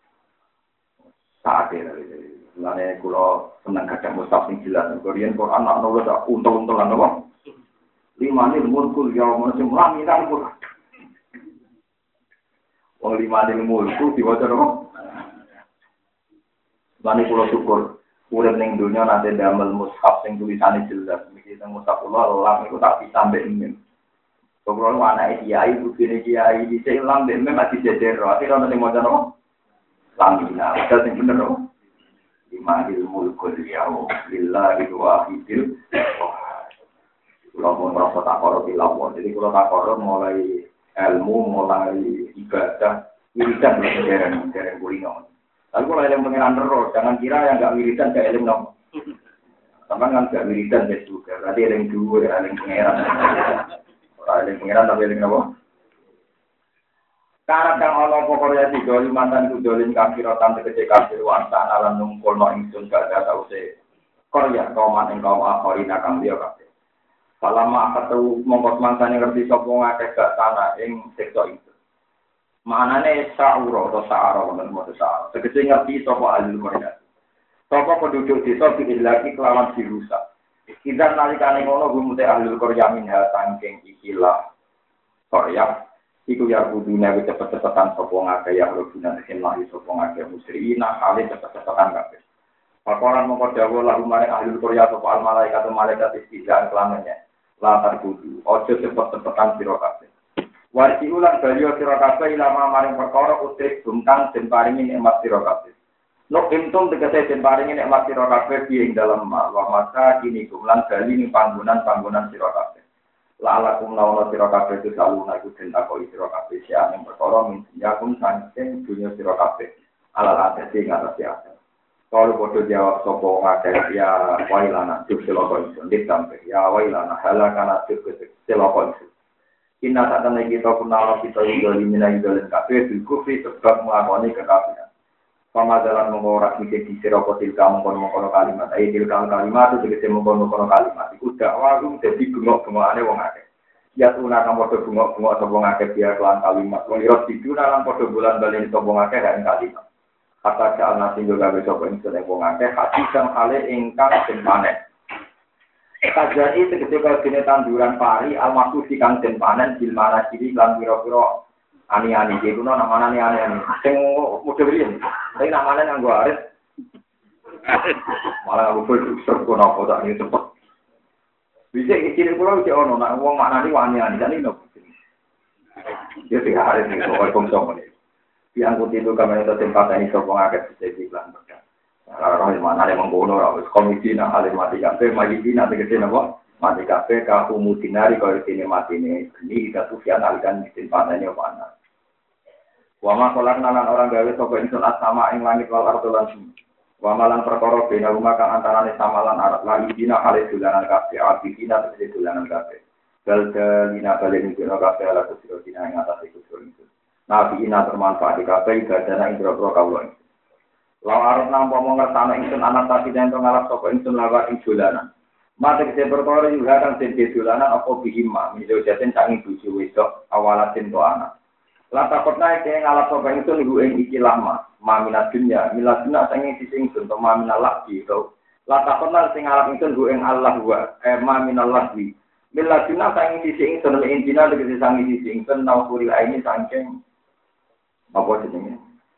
Saat ini. Sebenarnya kalau senang kadang mustaf yang jelas. Korean Quran nak nulis untung-untungan apa? 5 ini mulkul ya manusia melaminan pun. Wong 5 ini mulkul diwaca apa? Sebenarnya kalau syukur. Urip ning dunya nanti damel mushaf sing tulisane jelas. Iki teng mushaf kula lam iku tak bisa mbek mim. Pokoke anake kiai bukine kiai dhisik lam mbek mim mati jejer. Akhire ana sing maca no. Lam dina, ada sing bener no. Imahil mulkul yaum lillahi wahidil. Kula mau merasa tak karo tilawon. Jadi kula tak karo mulai ilmu, mulai ibadah, wiridan dereng kulino. Tapi kalau eling pengiran terus, jangan kira yang nggak wiridan saya eling dong. Sama kan nggak wiridan saya juga. Berarti eling dua, eling pengiran. Orang eling pengiran tapi eling apa? Karena kang Allah pokoknya si doli mantan ku dolin kafirotan tegese kafir wansan alam nungkul no ingsun gak ada tau se. Korea kauman ing kaum akhirina kang dia kafir. Salama ketemu mongkos mangsane ngerti sapa ngakeh gak tanah ing sektor itu. Manane sa'ura atau sa'ara wonten moto sa'ara. Tegese ngerti sapa ahli Korea. Sapa penduduk desa iki lagi kelawan dirusak. Kita nalikane ngono gumute ahli Korea minha saking ikilah Korea. Iku ya kudune wis cepet-cepetan sapa ngake ya rubuna sing lahi sapa ngake musrina hale cepet-cepetan kabeh. Pakoran mongko dawuh lalu mare ahli Korea sapa al malaikat malaikat istizaan kelamanya. Latar kudu ojo cepet-cepetan sira kabeh. Warti ulang baliyo sira kabeh ilama maring perkara utrik bungkang den paringi nikmat sira kabeh. Nuk intum tegese den paringi nikmat sira kabeh ing dalem wa masa kini kumlan bali ning panggonan-panggonan sira kabeh. La'alakum launa sira kabeh saluna iku den takoki sira kabeh sia ing perkara min yakum saking dunya sira kabeh. Alal atase ngatasi ate. Kalau bodoh jawab sopo ngakeh ya wailana juk seloko isun ditampe ya wailana halakana juk seloko isun. Inna satana kita punala kita idoli mina idolin kabeh bil kufri sebab nglakoni kekafiran. Pamadalan mengorak mikir di siroko tilka mengkono-mengkono kalimat. Ayo tilka kalimat itu tegese mengkono-mengkono kalimat. Iku dakwah itu jadi bengok-bengokane wong akeh. Ya tuna kang padha bengok-bengok sapa ngakeh biar kelan kalimat. Wong ira diduna lan padha bulan bali sapa ngakeh kan kalimat. Kata jalan nasi juga besok ingsun wong akeh hati kang hale ingkang den panen. Kajari tegese kaya dene tanduran pari almaku kang den panen bil mana ciri lan pira-pira ani-ani iki kuno namane ani-ani sing model riyen tapi namane nganggo arit malah aku full serko napa tak iki cepet bisa iki kulo iki ono nek wong maknani ani-ani kan iki nopo ya sing arit iki kok konsum iki yang putih itu kami itu tempat ini sopong agak bisa dibilang berkat. Kalau mana ada mengkono, harus komisi nak alim mati kafe, majidi nanti kesini apa? Mati kafe, kahu mutinari kalau sini mati ini kita sufian alikan mesin panennya mana? Wama kolak nalan orang gawe sopong insun asama ing langit wal ardolan sini. Wamalan perkara bina rumah kang antarane samalan arat lagi dina kali dulanan kafe, abidina terjadi dulanan kafe. Galgalina balen dina kafe ala kusiro dina yang atas ikut itu. Nabi ina bermanfaat di kafe ibadana indro-indro kawulon. Lalu arep nampa mengertana ingsun anak tadi dan ngalap sapa ingsun lawan ing dolanan. Mate kese perkara juga kang den dolanan apa bihima, miso jaten sangi bojo wedok awalatin to anak. La takotna iki ngalap sapa ingsun iku ing iki lama, maminat dunya, miladuna sangi sisi ingsun to maminal lagi to. La takotna sing ngalap ingsun ku ing Allah wa maminal lagi. Miladuna sangi sisi ingsun ing dina tegese sangi sisi ingsun nawuri aini sangking apa jenenge?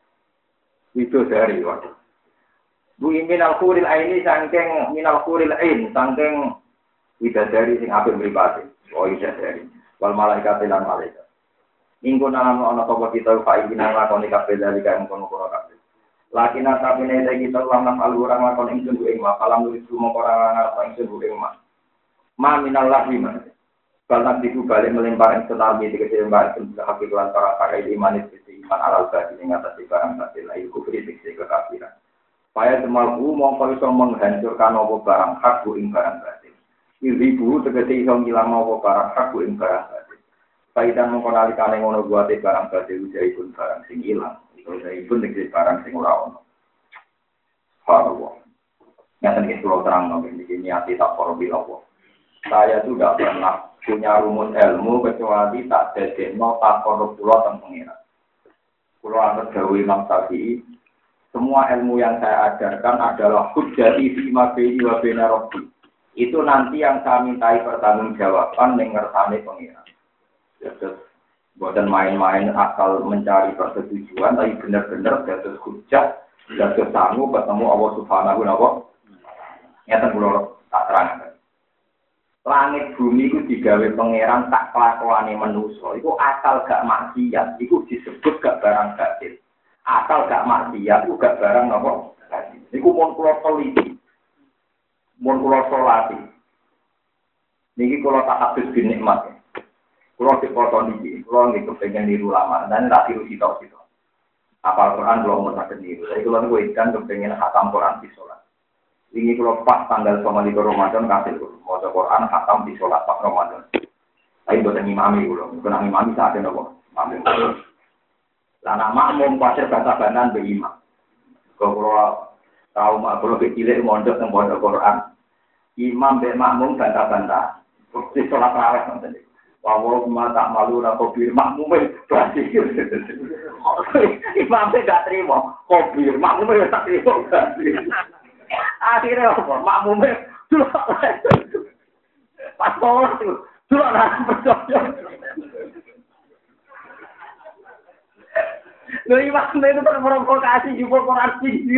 Itu dari waktu. Bu minal khuril aini sangking minal khuril ain sangking widadari sing apik mripate. Oh widadari. Wal malaikat lan malaikat. Minggu nalam ana sapa kita fa iki nang lakoni kabeh dari kaya mengkono-kono kabeh. Lakina tapine kita lan alurang lakon ingsun ku ing mafalam nulis mongko ora ngarep ingsun ku ing ma minal lahim. Kalau itu balik melempar yang tetapi dikasih lempar itu sudah hakik lantaran pakai iman itu iman alal badi yang atas barang batil itu kritik kekafiran. Supaya semalku mongko iso menghancurkan apa barang hak ing barang batil. Ibu tegese iso ngilang apa barang hak ing barang batil. Paidan mongko nalikane ngono buate barang batil jaipun barang sing ilang. Itu jaipun tegese barang sing ora ono. Allah. Yang tadi pulau terang ini hati tak korbilawo. Saya tuh tidak pernah punya rumus ilmu kecuali tak dedek no tak korup pulau tentang pengira. Pulau antar Jawa Imam Syafi'i. Semua ilmu yang saya ajarkan adalah hujjati fi ma baini wa baina rabbi. Itu nanti yang saya mintai pertanggungjawaban ning ngersane pengira. Jadi bukan main-main asal mencari persetujuan, tapi benar-benar dados hujjah, dados sanggup ketemu Allah Subhanahu wa taala. Nyata kula tak terangkan. Langit bumi itu digawe pangeran tak kelakuane manusa. Iku asal gak maksiat, iku disebut gak barang batil. Asal gak maksiat, iku gak barang napa? Iku mun kula teliti. Mun kula salati. Niki kula tak habis binikmat. Kula dipotong iki, kula niku pengen niru lama dan tak tiru sitok-sitok. Apal Quran kula mau tak niru. Saya kula niku ikan kepengen khatam Quran di salat. Ini kalau pas tanggal 25 Ramadan kasih mau Quran khatam di sholat pas Ramadan. Tapi buatan imami kalau bukan imami saat ini kok. Lana makmum pasir bantah-bantahan berimam. Kalau tahu kalau kecilnya mondok yang mondok Quran, imam be makmum bantah-bantah. Di sholat raweh nanti. Walau tak malu nakobir makmumnya berarti. Imamnya gak terima. Kobir makmumnya tak terima berarti. Akhirnya apa? Makmumnya dulu pas sholat itu dulu nak berdoa. Loh imamnya itu terprovokasi juga Quran tinggi.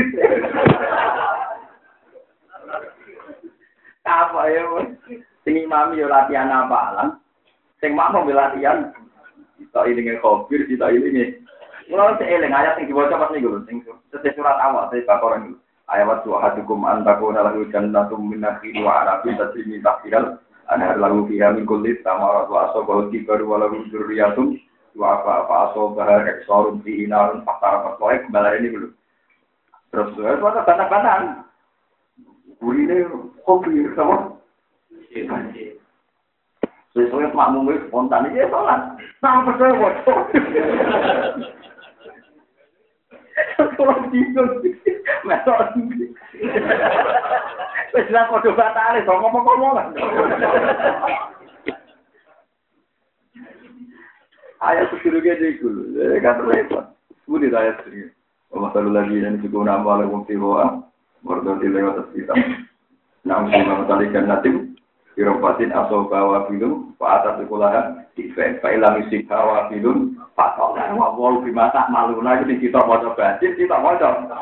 Apa ya? Sing imam yo latihan apalan. Sing makmum latihan. Kita ini ngekobir, kita ini. Mulai seeling ayat yang dibaca pas niku lho, sing surat awal dari Baqarah niku. Ayat suhadukum antakuna lahu jannatum min nakhil wa anabin tajri min tahtiha anhar lahu fiha min kulli thamarat wa asabahu kibaru wa lahu dzurriyyatun wa asabaha iksarun fihi narun fatara fatwa kembali ini dulu. Terus itu ada bantah-bantahan. Gurine kopi sama. Sesuai makmum itu spontan aja sholat. Nah percaya bocor. Kalau bingung, mesok tinggi. Sudah kode batal, so ngomong-ngomong. Ayat sebelumnya dulu, kan repot. Sudah ayat sebelumnya. Masalah lagi yang juga nama oleh Mufti Hoa, berdoti lewat kita. Namun masalah ikan natim, Irofatin asal bawa film, Pak atas sekolahan, Ifek, Pak ilang isi bawa film, Pak Tol, Wawal Bimata Maluna, ini kita mau coba, kita mau coba.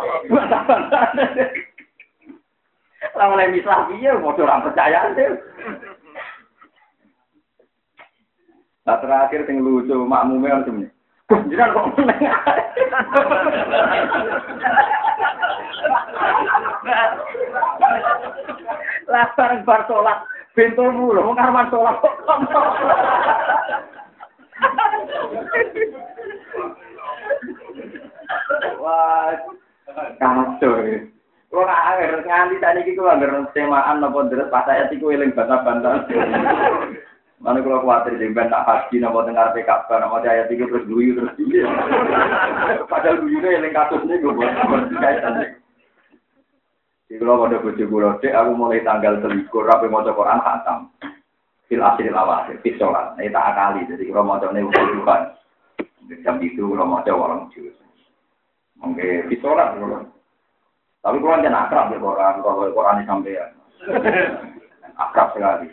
Lama yang mislah dia, mau orang percaya sih. Nah terakhir yang lucu, makmumnya macam ni. Jangan kok menengah. Latar bar sholat. Pintumu loh, mengarman sholat kok. Wah, kacau ya. Kalau nggak nganti tadi kita nggak semaan nopo deres pas saya tiku eling bantah-bantah. Mana kalau khawatir jemben tak haji nopo dengar PKB nopo ayat tiku terus guyu terus dia. Padahal guyunya eling kasusnya gue buat kaitan. Di kalau pada bojo kula cek aku mulai tanggal 3 rapi maca Quran khatam. Fil asril awakhir fi sholat. Ini tak akali jadi kalau macane utuhan. Jam itu kalau maca orang juz. Mengke fi sholat kalau. Tapi kalau jangan akrab ya Quran, kalau Quran sampean. Akrab sekali.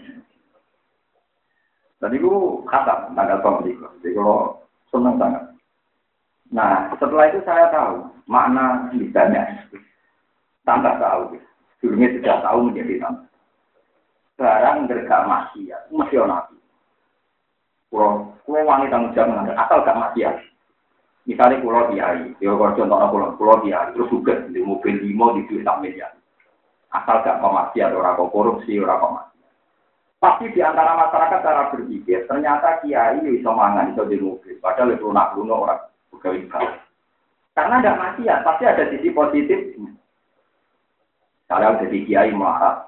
Tadi aku khatam tanggal 3. Jadi kalau senang sangat. Nah, setelah itu saya tahu makna lidahnya. Tambah tahu. Dulunya sudah tahu menjadi tambah. Sekarang gak maksiat, mesti nabi. Kalau wangi tanggung jawab asal gak maksiat. Misalnya pulau diari, ya kalau contohnya pulau diari, terus juga di mobil 5 di duit miliar. Asal gak pemaksiat, orang korupsi, orang pemaksiat. Pasti di antara masyarakat cara berpikir, ternyata kiai bisa mangan di mobil, padahal itu lunak-lunak orang pegawai negara. Karena ada maksiat, pasti ada sisi positifnya. Kalau jadi kiai marah,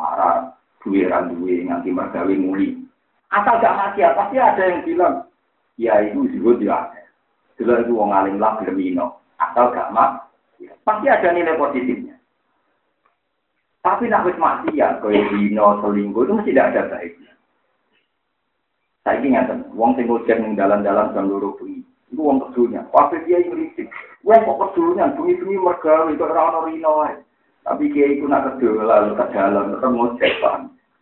duwe nganti mergawe muli. Asal gak maksiat, pasti ada yang bilang, kiai itu disebut dia. Jelas itu wong alim lah bermino, asal gak mak, pasti ada nilai positifnya. Tapi nak wis maksiat kaya dino selingkuh itu mesti tidak ada baiknya. Saya ingat, wong sing ngojek ning dalan-dalan jam 2 bengi. Iku wong kedunya. Kabeh kiai ngritik. Wong kok kedunya bengi-bengi mergawe kok ora ono rino wae. Tapi kiai iku nak kedolan ke dalan terus ngojek Pak.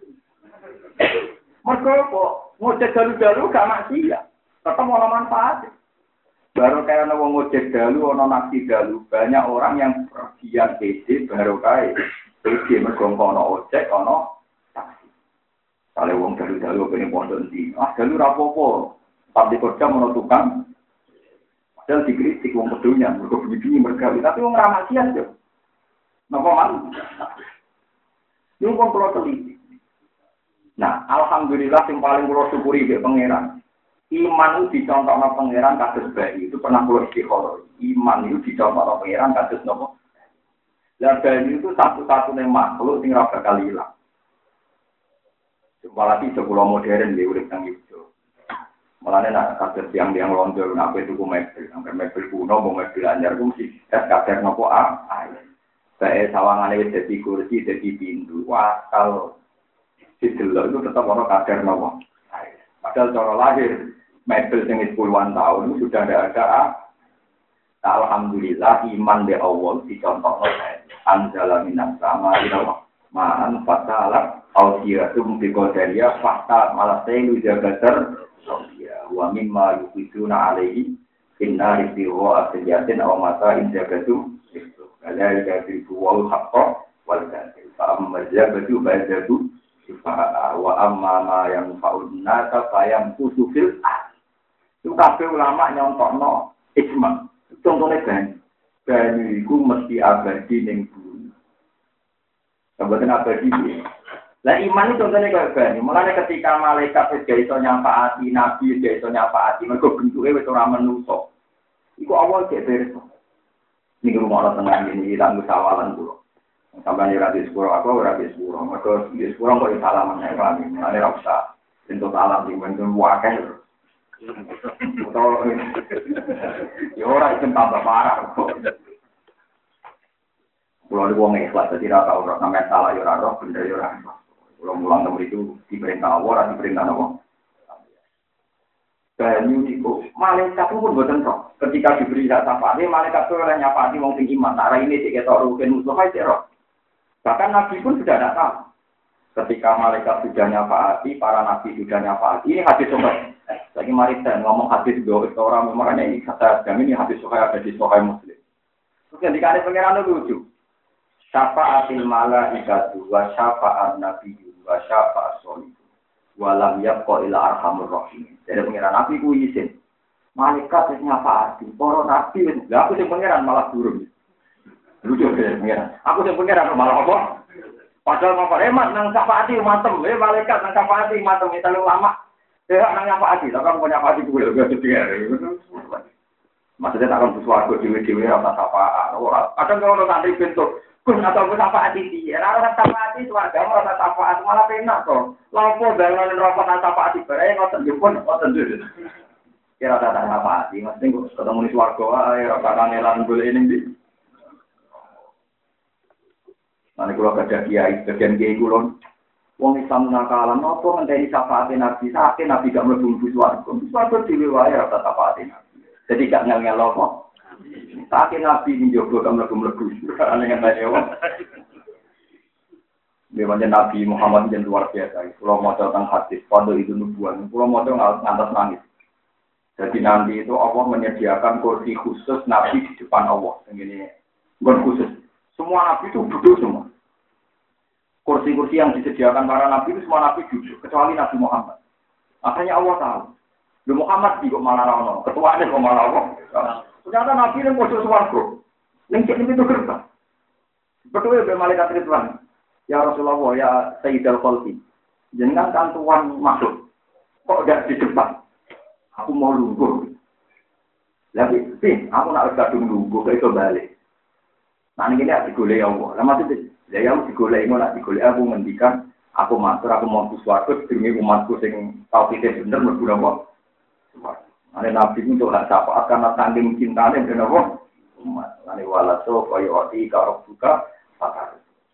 Mergo kok ngojek dalu-dalu gak maksiat. Tetep ono manfaat. Baru kayak ono wong ngojek dalu, ono naksi dalu. Banyak orang yang pergian PD baru kae. Iki mergo ono ojek, ono taksi. Kale wong dalu-dalu kene pondok ndi? Ah, dalu ra apa-apa. Tapi kerja ono tukang. Padahal dikritik wong kedunya, mergo begini mergawe, tapi wong ra maksiat yo. Napa man? Yo wong kula teliti. Nah, alhamdulillah yang paling kula syukuri ke pangeran. Iman itu dicontohno pangeran kados bayi. Itu pernah kula istikharah. Iman itu dicontohno pangeran kados napa? Lah bayi itu satu-satunya makhluk sing ora bakal ilang. Apalagi sekolah modern dia urip nang ijo. Mulane nak kados yang londo nak tuku mebel, sampai mebel kuno mau mebel anyar ku mesti kader nopo ae. Bae sawangane wis dadi kursi, dadi pintu. Wah, kalau didelok itu tetap ono kader nopo. Padahal cara lahir mebel sing puluhan tahun sudah ada. Alhamdulillah iman be Allah dicontohno anzala minas sama ila ma'an fatala audiyatum bi qadariya fakta malah telu jagater wa mimma yuqiduna alaihi inna rizqihu asyatin aw mata injagatum itu ala yakrifu wal haqqa wal batil fa amma jabatu ba'datu wa amma ma yang fa'udna nasa fayam tusufil itu kabeh ulama nyontokno ijma. Contohnya banyu itu mesti abadi ning bumi. Sebetulnya abadi ya. Lah iman itu contohnya kayak banyu. Mulane ketika malaikat wis gak iso nyafaati, nabi wis gak iso nyafaati, mergo bentuke wis ora menungso. Iku awal cek beres. Niki rumah tenang ini tak musawalan kula. Sampeyan ora di sepuro aku ora di sepuro. Mergo di sepuro kok salaman nek lami. Mulane ra usah entuk salam di bentuk wakil. Atau ya ora itu tambah parah kok. Kulo niku wong ikhlas dadi ra tau ora sampe salah ya ora roh bener ya ora. Kulo mulang nomor itu diperintah Allah ora diperintah apa. Banyu niku malaikat pun boten roh. Ketika diberi hak syafaat, malaikat itu ora nyafaati wong sing iman. Nah ini sik ketok rugen musuh ae roh. Bahkan nabi pun sudah ada tahu. Ketika malaikat sudah nyafaati, para nabi sudah nyafaati. Ini hadis sahih. Lagi mari saya ngomong hadis dua orang makanya ini kata kami ini hadis sahih ada di Sahih Muslim. Terus yang dikali pengiran lucu. Syafa'atil malaikatu wa syafa'an nabiyyu wa syafa'as solih. Wa lam yabqa ila arhamur rahim. Jadi pengiran nabi ku izin. Malaikat wis nyafaati, para nabi wis. Lah aku sing pengiran malah durung. Lucu ya pengiran. Aku sing pengiran malah apa? Padahal mau hemat nang syafaati matem, malaikat nang syafaati matem itu lama. Ya, nang nyafaati, tapi kamu punya nyafaati gue juga juga. Maksudnya tak akan bersuara dewi-dewi rasa syafaat. Kadang kalau orang santri bentuk, kun atau gue syafaati dia. Rasa syafaati suarga rasa syafaat malah penak kok. Lampu bangun rokok nang syafaati berai ngoten jepun ngoten dulu. Kira kata syafaati, maksudnya gue ketemu di suarga, rasa kangelan gue ini di. Nanti kalau kerja kiai, bagian kiai kulon. Wong Islam nakalan, nopo ngenteni syafaat Nabi, sakit Nabi gak mlebu swarga. Swarga dhewe wae ora syafaat Nabi. Jadi gak ngel-ngel apa. Sakit Nabi njogo gak mlebu. Ana ngenteni wong. Memangnya Nabi Muhammad yang luar biasa. Kalau mau tentang hadis, pada itu nubuan. Kalau mau ngantos nangis. Jadi nanti itu Allah menyediakan kursi khusus Nabi di depan Allah. Ini bukan khusus. Semua Nabi itu duduk semua. Kursi-kursi yang disediakan para nabi itu semua nabi duduk, kecuali Nabi Muhammad. Akhirnya Allah tahu. Nabi Muhammad di kok malah rano, ketuanya kok malah Allah. Ternyata nabi yang pojok swarga. Ning cek itu gerbang. Betul ya malaikat Ridwan. Ya Rasulullah ya Sayyidul Khalqi. Jenengan kan tuan masuk. Kok enggak di depan? Aku mau lungguh. Lagi, aku nak kadung lungguh kok iso balik. Nah ini ada digolek Allah. Lah maksudnya, ya aku digolek ngono, digolek aku ngendikan, aku matur, aku mau swarga demi umatku sing tauhide bener mlebu napa. Ane nabi untuk hak syafaat karena saking cintane ben apa? Umat. Ane walaso kaya ati karo buka pakar.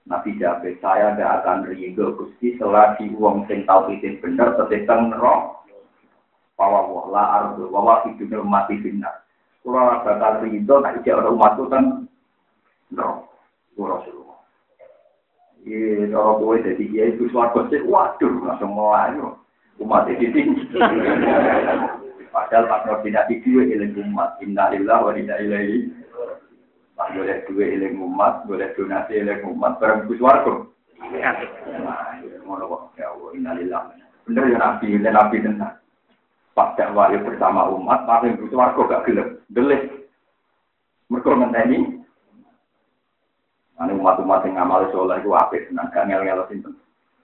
Nabi jawab, saya tidak akan ridho Gusti selagi wong sing tauhid bener tetep neraka. Bahwa la ardu wa hidupnya mati benar. Kalau bakal ridho nek iki ora umatku ten neraka. Rasulullah. Iya, kalau gue jadi dia itu suatu sih, waduh, langsung mulai umat itu. Padahal pas koordinasi dua ilang umat, innalillah wa inna ilaihi. Pas boleh dua ilang umat, boleh donasi ilang umat, barang bus warga. Nah, ngono kok, ya Allah, innalillah. Bener ya nabi tenang. Pas dakwah bersama umat, paling bus warga gak gelap, gelis. Mereka ngenteni. Ane umat-umat yang ngamal soleh itu apik, senang gak ngel-ngel sinten.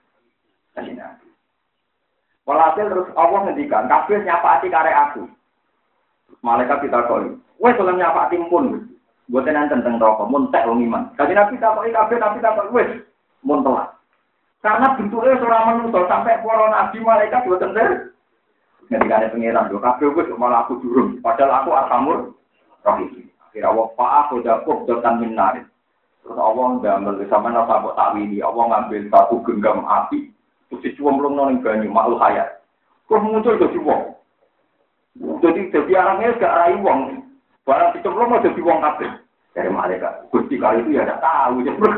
Walhasil terus Allah ngendikan, kabeh nyapaati karek aku. Malaikat kita kok, wes oleh nyapaati pun. Mboten enten teng neraka, mun tek wong iman. Kanjeng Nabi takoki kabeh Nabi takok wes mun telat. Karena bentuknya ora menungso sampai para nabi malaikat mboten ter. Ngendikane pangeran, lho kabeh wes malah aku durung. Padahal aku arhamur rahim. Akhire Allah aku dapat dotan minar. Terus Allah ngambil sama napa kok takwili. Allah ngambil satu genggam api. Terus dicemplung nang banyu makhluk hayat. Kok muncul jadi wong. Jadi orangnya gak rai wong. Barang dicemplung aja di wong kabeh. Dari malaikat. Gusti kali itu ya tidak tahu.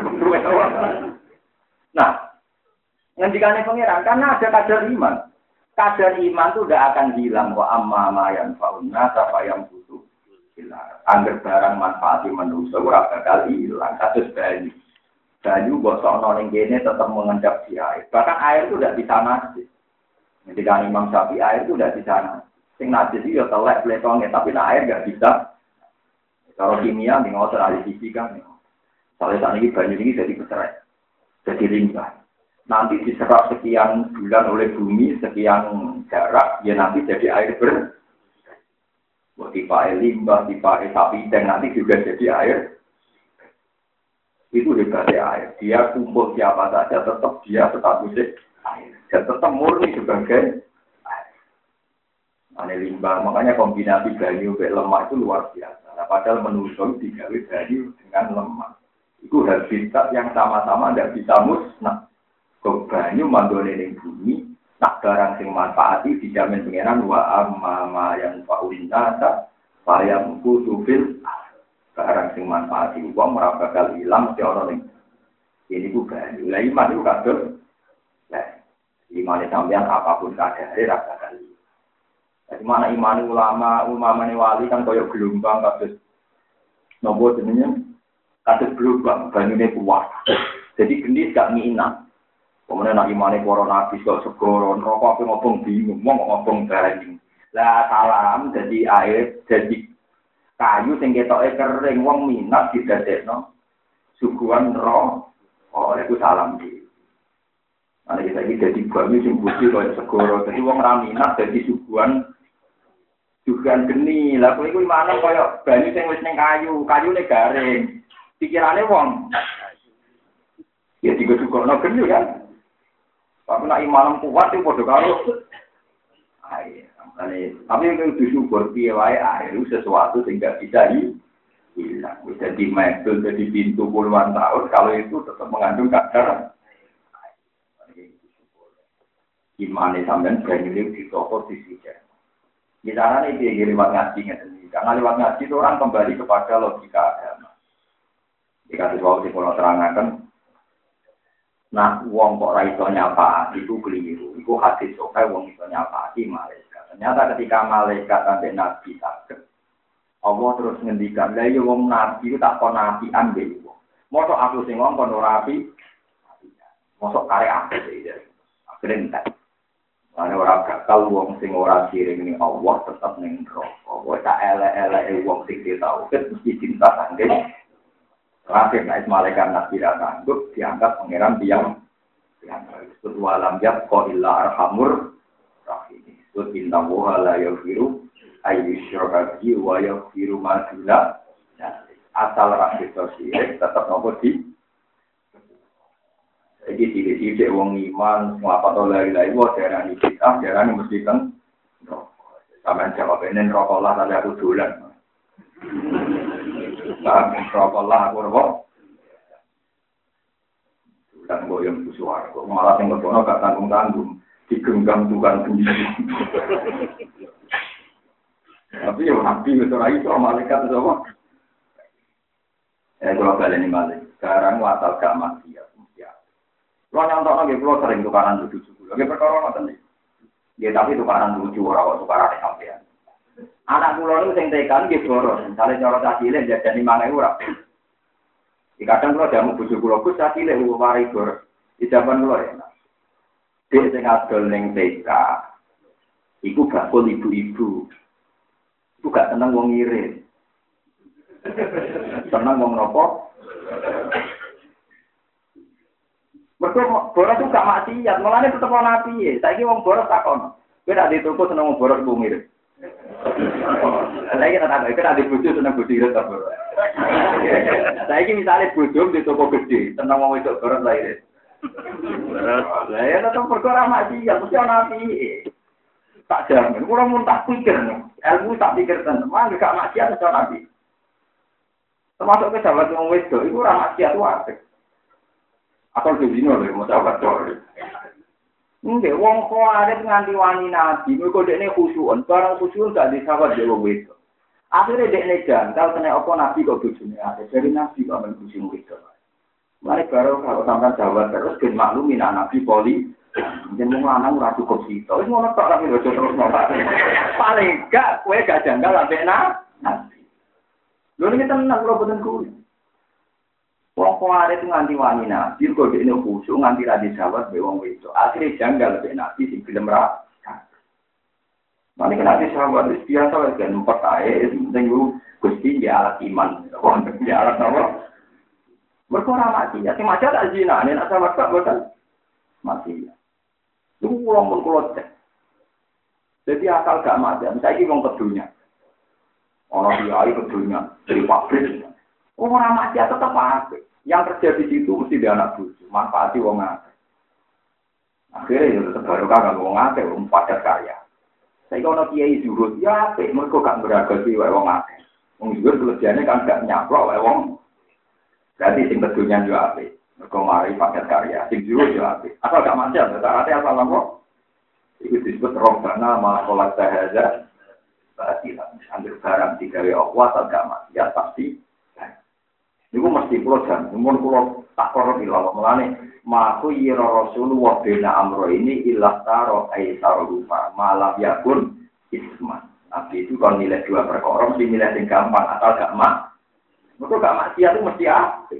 Nah, ngendikane pangeran karena ada kadar iman. Kadar iman itu tidak akan hilang. Wa amma ma yanfa'unna safayam butuh. Angger barang manfaati manusia ora bakal hilang. Kasus banyu. Banyu bosokno ning kene tetap mengendap di air. Bahkan air itu tidak bisa najis. Ngendikane Imam Syafi'i air itu tidak bisa najis. Sing najis itu ya telek pletongnya tapi air enggak bisa. Kalau kimia nih ngotot ahli fisika nih. Soalnya saat ini banyu ini jadi bercerai, jadi limbah. Nanti diserap sekian bulan oleh bumi, sekian jarak, ya nanti jadi air ber. Buat tipe air limbah, tipe air sapi, dan nanti juga jadi air. Itu hebatnya air. Dia kumpul siapa saja, tetap dia statusnya air. Dan tetap murni sebagai air. Ini limbah, makanya kombinasi banyu dan lemak itu luar biasa. Nah, padahal menusuk digawe banyu dengan lemak. Itu habitat yang sama-sama tidak bisa musnah. Kok banyu manggone ning bumi, nak barang sing manfaati dijamin pengenan wa amma yang faulina ta sayang kutubil barang sing manfaati wong ora bakal ilang mesti ana ning. Ini ku banyu. Lah iman itu kabeh. Lah iman sampeyan apapun kadare ra bakal. Jadi mana iman ulama ini wali kan koyok gelombang kasus nopo jenenge kasus gelombang banyune kuat. Jadi gendis gak minat. Kemudian nak imane para nabi kok segoro neraka apa ngobong bingung wong kok ngobong banyu. Lah salam jadi air jadi kayu sing ketoke kering wong minat didadekno suguhan neraka. Oh itu salam iki. Ana kita iki dadi banyu sing putih koyo segoro. Jadi wong ra minat dadi suguhan juga geni, lah kowe iku mana kaya banyu sing wis ning kayune garing. Pikirane wong. Ya digodhogno geni kan. Tapi nek iman kuat itu padha karo air. Tapi itu disyukur piye wae air itu sesuatu sing gak bisa hilang. Bisa di mebel, jadi pintu puluhan tahun kalau itu tetap mengandung kadar air. Imane sampean banyu di toko di sini. Bicara ini dia lewat ngaji ngerti. Karena lewat ngaji itu orang kembali kepada logika agama. Jika sesuatu kalau terangkan, nah uang kok raiso nyapa itu keliru. Itu hadis sokai uang itu nyapa di malaikat. Ternyata ketika malaikat sampai nabi sakit, Allah terus ngendikan, lah ya uang nabi itu tak kon nabi ambil. Mosok aku sing ngomong kon nabi, mosok karek aku sih. Akhirnya ana ora bakal wong sing ora siring ning Allah tetep ning neraka. Wong tak elek-eleke wong sing tauhid mesti cinta sange. Terakhir nek malaikat nabi ra sanggup diangkat pangeran yang disebut walam yaqqa illa arhamur rahim. Disebut inna wa la yaghfiru ayyushraka bihi wa yaghfiru ma duna asal rahim sosial tetep nopo di. Jadi tidak wong iman, ngapa tau lari-lari, wah darah ini kita, darah ini mesti kan sampai jawab ini rokok lah, tadi aku dolan. Rokok lah, aku rokok. yang suara. Kok malah yang berkono gak tanggung-tanggung. Digenggam tukang sendiri. Tapi ya nabi itu lagi soal malaikat itu apa? Kalau kalian ini balik. Sekarang watal gak mati ya. Kalau nyontok lagi, kalau sering tukaran lucu. Lagi perkara apa nih? Ya tapi tukaran lucu orang tukaran sampean. Anak pulau itu yang tekan gitu boros. Misalnya cara cacile jadi 5.000 orang. Di kadang kalau jamu bujuk pulau kus cacile mari boros. Di zaman pulau ya. Dia sing adol ning TK. Iku gak pun ibu-ibu. Iku gak seneng wong ngirit. Seneng wong nopo? Mergo boros itu gak maksiat, mulane tetep ana piye. Saiki wong boros takon. Kowe nek dituku seneng wong boros wong ngirit. Lagi tak di bojo seneng bojo ngirit ta boros. Saiki misale bojo di toko gede, seneng wong wedok boros la irit. Lah ya tetep perkara maksiat, mesti ana piye. Tak jamin, kula mun tak pikir, ilmu tak pikir tenan, mangke gak maksiat iso nabi. Termasuk ke sahabat wong wedok iku ora maksiat wae. Atau dino lho mau sahabat to. Nggih, wong kok arep nganti wani nabi, mergo dekne khusyuk, barang khusyuk gak disawat dhewe wedok. Akhire dekne jangkal kena apa nabi kok bojone ada dari nabi kok men khusyuk wedok. Mari baru kalau sampai jawab terus ben maklumin nabi poli jeneng lanang ora cukup sito. Wis ngono tok tapi ojo terus nolak. Paling gak kowe gak janggal ambek nabi. Lho iki tenan kula boten kuwi. Wong kuwi itu nganti wani nabi kok dene khusyuk nganti ra dijawab be wong wedok. Akhire janggal ambek nabi sing gelem ra. Mane kena disawat biasa wae kan empat ae sing Gusti ya alat iman. Wong ya alat apa? Berkorang mati, ya. Sing macam tak zina, ni nak sama tak betul mati. Itu pulang pun keluar. Jadi asal gak mati, saya ini orang kedunya. Orang dia air kedunya dari pabrik. Orang mati tetap apa? Yang kerja di situ mesti dia anak bucu, manfaati wong akeh. Akhirnya itu baru kagak wong akeh, wong padat karya. Saya kalau kiai zuhud, ya apik, mereka gak beragasi wong akeh. Wong zuhud kelebihannya kan gak nyaplok wong. Berarti sing kedunya juga apik. Mergo mari paket karya, sing jero juga apik. Asal gak macam, berarti asal apa? Itu disebut robbana ma qolat sahaja. Berarti ambil barang digawe Allah asal gak maksiat pasti. Niku mesti kula jan, mun kula tak karo ilal mulane maku yira Rasulullah bena amro ini ilah taro aisar rupa malam yakun isman. Nabi itu kalau nilai dua perkara mesti nilai sing gampang asal gak Mereka gak maksiat itu mesti apik.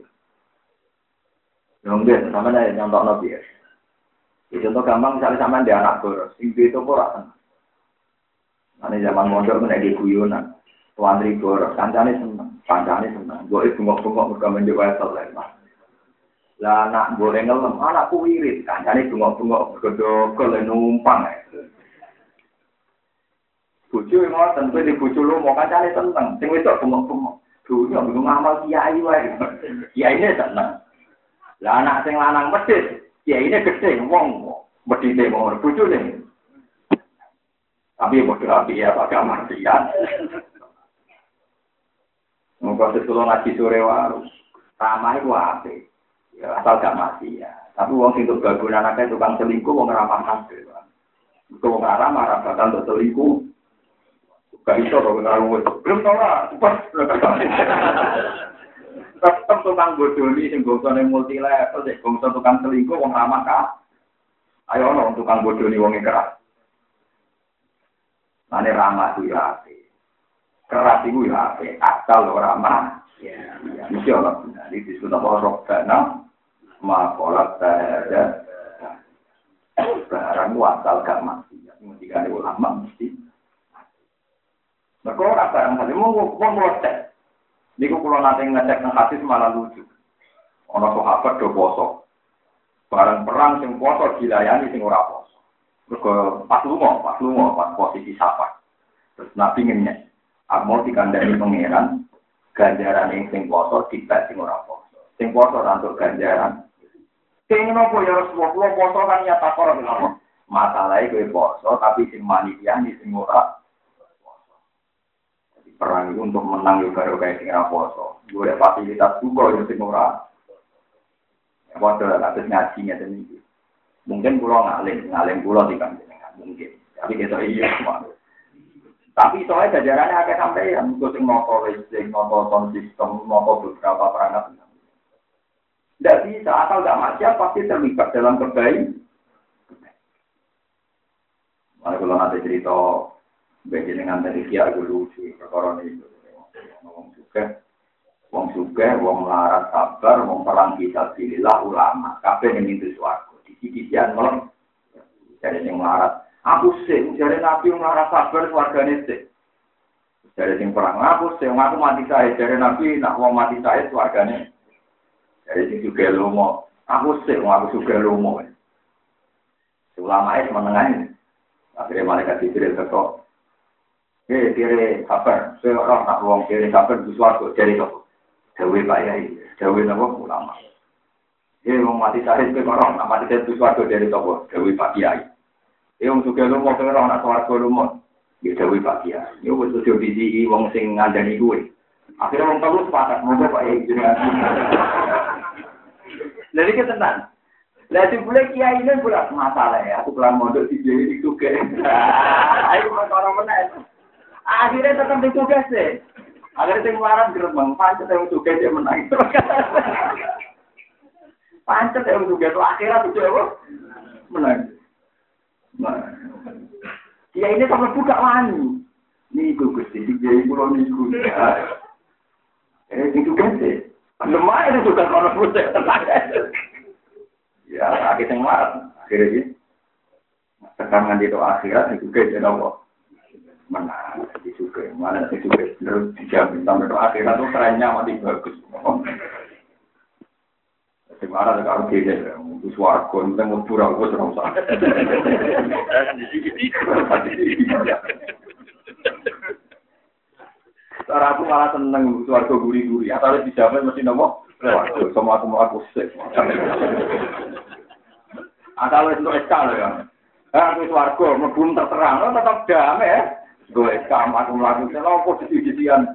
Nggih, sampeyan nyontok nabi ya. Contoh gampang misalnya sampean dia anak boros, sing itu ora seneng. Ane zaman mondok menaiki guyonan. Tuandri boros, kancane seneng, Mbok bengok-bengok mergo menjuk wae saleh. Lah anak boleh ngelem, anakku wirid, kancane bengok-bengok mergo dogol numpang. Bojo ngoten, kowe di bojo lu mau kancane seneng, sing wedok bengok-bengok. Dunia belum amal kiai wae. Kiai ini seneng. Lah anak sing lanang medhit, kiai ini gede wong medhite mau bojone. Tapi bodoh api ya pakai martian. Monggo sekolah ngaji sore wae. Ramah iku apik. Ya asal gak mati ya. Tapi wong sing tok bagun anake tukang selingkuh wong ramah kabeh. Kok wong ramah ra bakal tok selingkuh. Gak iso kok ngaruh belum ora pas tetep tukang bodoni sing gosone multi level sik gosone tukang selingkuh wong ramah ka ayo ono tukang bodoni wong keras ane ramah ku ya apik keras iku ya apik asal ora ramah ya mesti ora benar iki disebut apa robbana ma qolat ada barang wasal gak mati mesti kan ulama mesti. Mereka orang barang tadi mau ngecek. Niku kalau nanti ngecek nang hadis malah lucu. Ono sahabat do poso. Barang perang sing poso dilayani sing ora poso. Mergo pas posisi sapa. Terus Nabi ngenyek. Mau dikandani pangeran ganjaran sing poso dibak sing ora poso. Sing poso rantuk ganjaran. Sing nopo ya Rasulullah poso kan ya takor lho. Masalahe kowe poso tapi sing manitiani sing ora perang itu untuk menang juga kayak sing raposo. Gue fasilitas juga yang sing ora. Waduh, kasus ngajinya sendiri. Mungkin pulau ngalim pulau di kanjengan mungkin. Tapi kita iya semua. Tapi soalnya jajarannya agak sampai yang sing noto listrik, noto sound system, noto beberapa perangkat. Tidak bisa asal nggak maksiat pasti terlibat dalam kebaikan. Mana kalau nanti cerita begini dengan dari kia dulu sih perkara itu. Wong suka, wong melarat sabar, wong perang fisabilillah ulama. Kabeh ning itu swarga. Disi-disian melem. Jare sing melarat, aku sih, jare nabi melarat sabar swargane sih. Jare sing perang aku sih, aku mati sae, jare nabi nak wong mati sae swargane. Jare sing juga lomo, aku sih, aku juga lomo. Ulama es menengahin. Akhirnya malaikat Jibril teko. Kira sabar, seorang nak wong kira sabar di swarga jare kok. Dewi Pak Yai, Dewi Nawa ulama. Wong mati syahid ke orang, nak mati syahid suatu dari toko, Dewi Pak Yai. Wong suka lu mau ke orang, nak suarga lu mau, Dewi Pak Yai. Ini wong sudah bisi, wong sing ngandani gue. Akhirnya wong tahu sepakat, mau Pak Yai jenengan. Jadi kita tenang. Lagi boleh Kiai ini bulat masalah ya, aku pulang mondok di Kiai itu ke. Ayo orang mana? Akhirnya tetap ditugas deh. Agar sing waran gerbang pancet yang juga dia menang. Pancet yang juga itu akhirat itu apa? Menang. Dia ini sampai buka wani. Ini Gusti, dia pulau niku. Ini juga sih. Lemah itu juga kalau pusat. Ya, akhir yang waran. Akhirnya sih. Tekangan di doa akhirat itu juga dia apa? Menang, juga mana juga terus dijamin sampai ke akhirat tuh kerennya mati bagus. Sekarang ada kalau dia itu suaraku, kita mau pura aku terus. Cara aku malah seneng suaraku gurih-gurih. Atau dijamin mesti nopo. Semua aku sih. Atau itu eskal ya. Aku suaraku, belum terterang, tetap damai ya. Gue kam aku melakukan apa posisi-posisian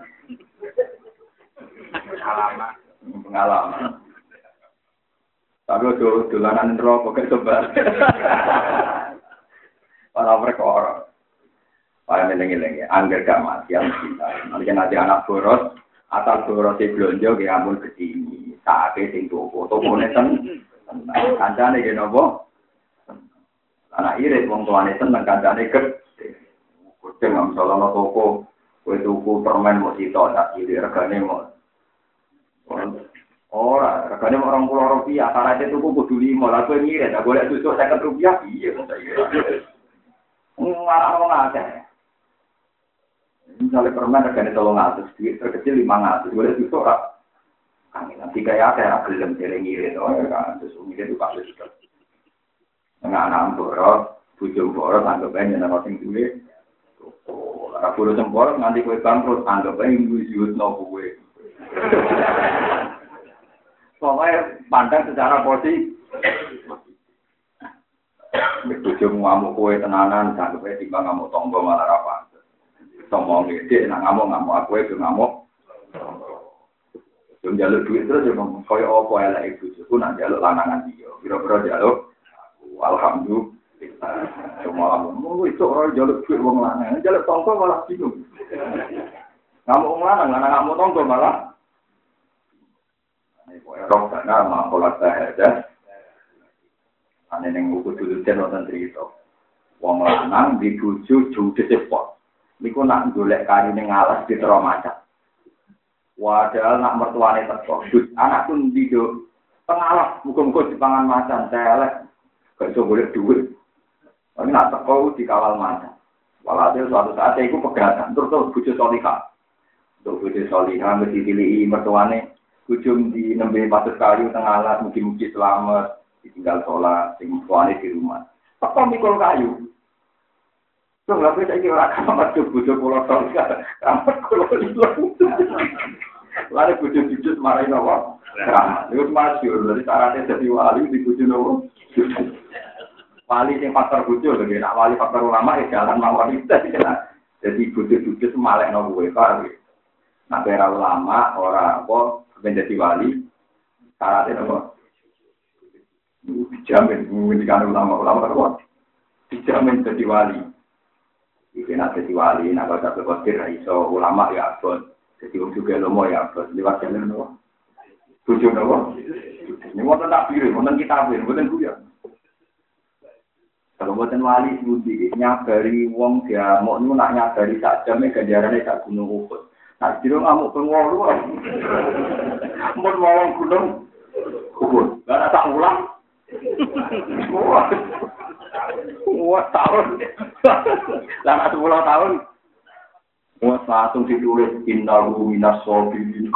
pengalaman. Tapi dolanan rokok kayak sebar. Para perkara. Para meneng-meneng angger gak mati yang kita. Nanti anak boros, asal boros belanja ya ampun kesini. Saatnya sing toko neten. Kancane ge nopo? Anak irit wong tuane seneng kancane gede. Jangan salah toko, kue tuku permen mau sitok tak kiri regane mau. Orang regane Rp20.000, karena tuku kudu 5, lah kue ngirit, tak boleh susuk Rp50, iya saya. Ngarang wong akeh. Misalnya permen regane 300, duit terkecil 500, boleh susuk ora. Nanti kayak ada gelem dereng ngirit, kan terus ngirit itu kasus juga. Anak boros, bojo boros anggap ae nyeneng sing duwe. Ora perlu sempol nganti kowe bangkrut anggap ae nyusutno kowe. Pokoknya pandang secara positif. Bojo ngamuk kowe tenanan anggap ae timbang ngamuk tangga malah ra pantes. Sombong gede nak ngamuk aku itu ngamuk. Yo njaluk duit terus yo koyo apa elek bojoku nak njaluk lanangan dia. Kira-kira njaluk alhamdulillah. Semua mau itu orang jaluk duit wong lanang, jaluk tonggo malah bingung. Ngamuk wong lanang ngamuk tonggo malah. Ini kok erok kana makolat sahaja. Ane ning buku dulutan wonten crita. Wong lanang dibujuk judes sepot. Niku nak golek kari ning alas ditero macet. Padahal nak mertuane teko, anakku ndido pengalas muga-muga dipangan macan telek. Gak iso golek duit. Ini nak teko dikawal macan. Walhasil suatu saat iku pegatan terus bojo solihah. Untuk bojo solihah mesti dipilih mertuane bojo di nembe patus kayu tengah alas mugi-mugi selamat ditinggal sholat sing mertuane di rumah. Teko mikul kayu. Terus lha saiki ora kamar bojo kula solihah. Kamar kula ilang. Lare bojo jujur marahin apa? Itu masyhur dari syaratnya jadi wali di bojo nopo. Wali yang faktor bojo lho, nek wali faktor ulama ya jalan mawon itu jadi bojo-bojo semalekno kowe karo. Nek ora ulama ora apa ben dadi wali syaratnya apa? Dijamin, menghentikan ulama-ulama kuat. Dijamin jadi wali. Iki nak jadi wali, nak baca berkotir, iso ulama ya abot. Jadi juga lomo ya abot. Lewat jalan lomo. Tujuh lomo. Ini mau tak pilih, mau kita pilih, mau kuya. Kalau buatan wali budi, nyabari wong dia mau nak nyabari sak jamnya ganjarannya sak gunung Uhud. Nah, jadi ngamuk pengwalu. Mau wong gunung Uhud. Gak tak ulang. Wah, tahun. Lama 10 tahun. Wah, langsung ditulis innahu minas sabirin.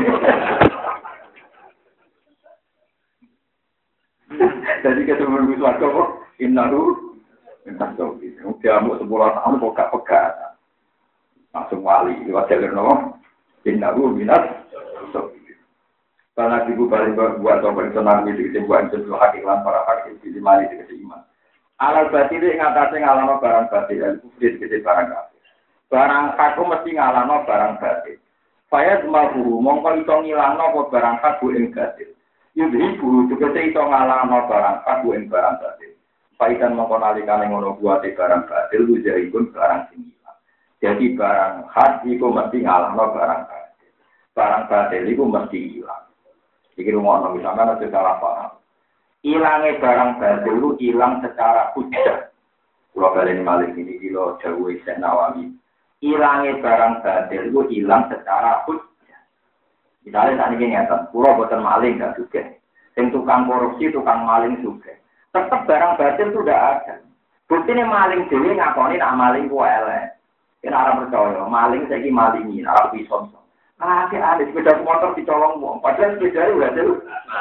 Jadi ketemu suatu kok innahu minas sabirin. Dia mau 10 tahun kok gak pegat. Langsung wali lewat jalur nopo. Innahu minas sabirin. Karena ibu balik buat operasional itu buat sesuatu hakikat para hakim di mali di iman. Alal batil ngatasi ngalano barang batil, kufri gede barang kafir. Barang aku mesti ngalano barang batil. Saya cuma guru, mongko iso ngilangno apa barang aku ing batil. Yudhi guru juga iso ngalano barang aku ing barang batil. Paikan mongko nalikane ngono buate barang batil lujaripun barang sing ilang. Jadi barang hak iku mesti ngalano barang batil. Barang batil iku mesti ilang. Iki rumono misalnya ada salah paham. Ilangnya barang batil itu hilang secara hujjah. Kalau kalian malik ini kilo jauh Syekh Nawawi. Ilangnya barang batil itu hilang secara hujjah. Misalnya saat ini nyata, pulau buatan maling gak juga. Yang tukang korupsi, tukang maling juga. Tetap barang batil itu udah ada. Bukti ini maling dewi ngakoni nak maling ku elek. Kita orang percaya, maling saya malingi, orang pisau. Ah, ada sepeda motor dicolong uang. Padahal sepeda itu udah jauh.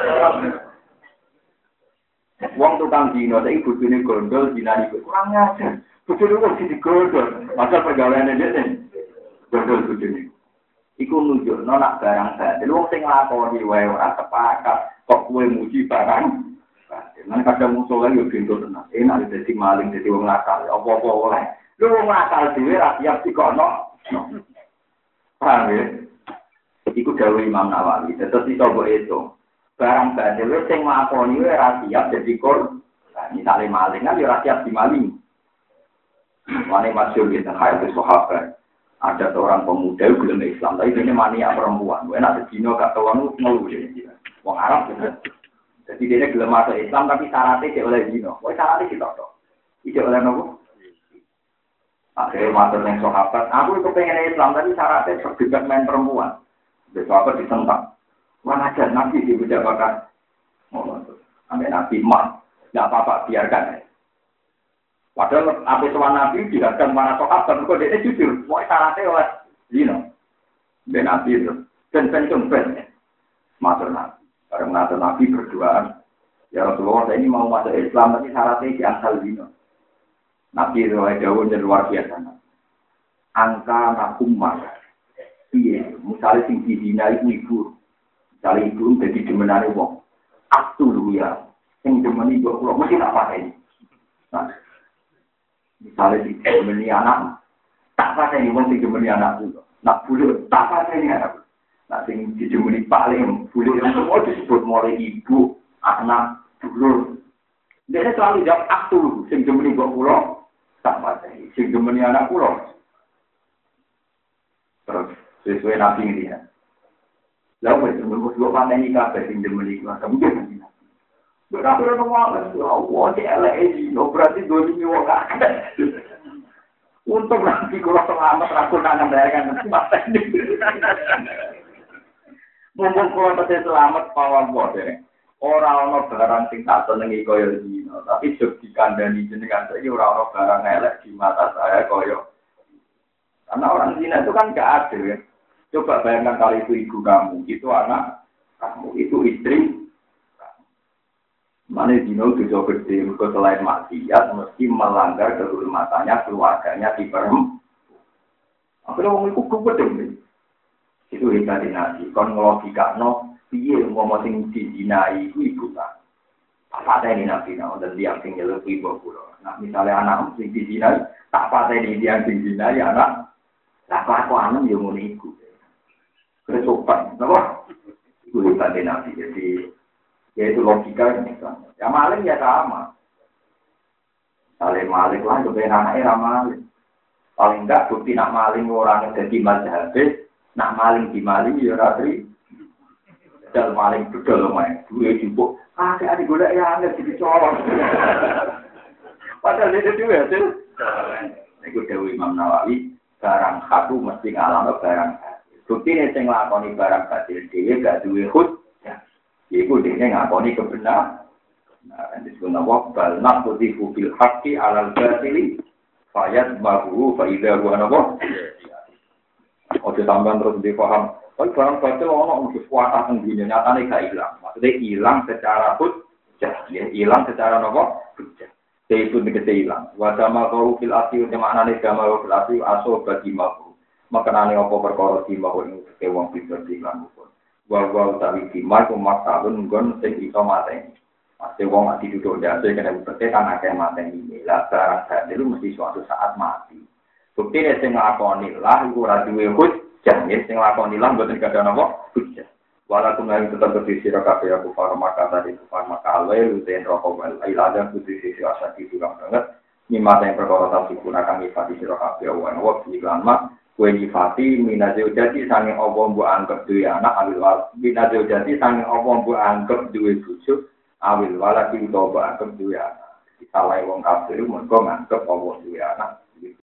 Wong tukang dino, saya bujune gondol, dina itu kurang ngajar. Bujune kok jadi gondol. Masa pergaulannya dia nih, gondol bujune. Iku nunjuk, nak barang batil. Wong sing nglakoni wae ora sepakat, kok kowe muji barang. Nang kadang musuh lagi yo gendol tenan. Enak dadi maling, dadi wong nakal, apa-apa oleh. Lu wong nakal dhewe ra siap dikono. Paham ya? Iku dawuh Imam Nawawi. Terus iso mbok itu. Barang batil sing nglakoni wae ra siap dadi korban. Misale maling kan yo ra siap dimaling. Mane masyhur kita hayat sahabat. Ada seorang pemuda yang belum Islam, tapi ini mania perempuan. Enak sedino gak tahu ngeluh dia. Wong Arab gitu. Jadi dia belum masuk Islam, tapi syaratnya tidak oleh dino. Wah syaratnya kita tahu. Tidak oleh nopo. Akhirnya masuk yang sahabat. Aku itu pengen Islam, tapi syaratnya terdekat main perempuan. Sahabat ditentang. Wah ajar nabi di beda bakar. Sampai nabi mah, nggak apa-apa biarkan. Padahal apa soal nabi dihadang para sahabat, kok dia jujur. Wah syaratnya oleh dino. Ben nabi itu. Ben masuk nabi. Bareng nabi nabi berdoa. Ya Rasulullah saya ini mau masuk Islam, tapi syaratnya diangkal dino. Nabi itu jauh dan luar biasa. Angka nakumah. Iya, misalnya sing dina itu ibu. Misalnya ibu jadi demenane wong. Aktu dulu ya. Yang demeni kok kula mesti tak pakai. Nah, misalnya si demeni anak, tak pakai wong sing demeni anak itu. Nak bulu tak pakai anak. Nah, sing dijemeni paling bulu yang semua disebut mulai ibu, anak, dulur. Dia selalu jawab aktu, sing demeni kok kula tak pakai. Sing demeni anak kula. Terus sesuai nabi ini ya. Lalu itu pandai ni kafe sing demeni kula mungkin. Berapa orang ngomong, Allah CLE, berarti 2 minggu waktu. Untuk nanti kalau selamat rakun nangan daerahkan masa ini. Mumpung kalau terjadi selamat pawang bodoh. Orang-orang barang sing tak senengi koyo dino, tapi jog dikandani jenengan saiki orang-orang barang elek di mata saya koyo. Karena orang zina itu kan gak adil ya. Coba bayangkan kalau itu ibu kamu, itu anak kamu, itu istri. Mana dino dosa gede, mereka selain maksiat mesti melanggar kehormatannya, keluarganya di perem. Akhirnya orang itu gede. Itu hebat dinasti. Kon ngelogika no, piye ngomong sing dizinai itu ibu kan. Tak patah ini nabi no, dan dia sing lebih ibu pulau. Nah misalnya anak sing dizinai, tak patah ini dia sing dizinai anak. Tak kelakuan yang mau ibu. Kesopan, kenapa? Itu hebat dinasti. Jadi Yaitu logika ini kan. Ya maling ya sama. Saling maling lah kebenaran anaknya maling. Paling enggak bukti nak maling orang jadi mazhab, nak maling di maling ya ratri. Dal maling bedol main. Duwe jupuk. Ada golek ya aneh dicolong. Padahal itu juga hasil. Iku dewe Imam Nawawi, barang satu mesti ngalami barang. Bukti ini sing nglakoni barang batil dhewe gak duwe hujjah. Iku dene ngakoni kebenaran. Nah, disebut nama bal naqdifu bil haqqi 'alal batili fayad mahu fa idza huwa napa. Oke tambahan terus dipaham. Kan barang batil ono mesti kuatah teng dunya nyatane gak ilang. Maksudnya hilang secara hujjah, ya hilang secara napa? Hujjah. Itu negese hilang. Wa dama qaul fil asli maknane dama fil asli aso bagi mahu. Makanane apa perkara di mahu ing wong bisa dilan pun. Wa utawi di mahu maktulun nggon sing iso mateni. Pasti wong mati duduk jatuh kena bukti karena akeh mateni lah barang sadelu mesti suatu saat mati. Bukti nek sing nglakoni lah iku ora duwe hujjah, sing nglakoni lah mboten kada napa hujjah. Walaupun yang tetap berdiri kabeh aku para maka tadi para maka alwe luten rokok wal ilada berdiri asa di dalam banget. Nyimata yang perkara tadi gunakan ifati sira kabeh wan waktu iklan mak kue ifati minazil jadi sange apa mbok anggap duwe anak awil minazil jadi sange apa mbok anggap duwe bojo awil wala ki utawa anggap duwe anak. Salah wong kafir mergo nganggep apa duwe anak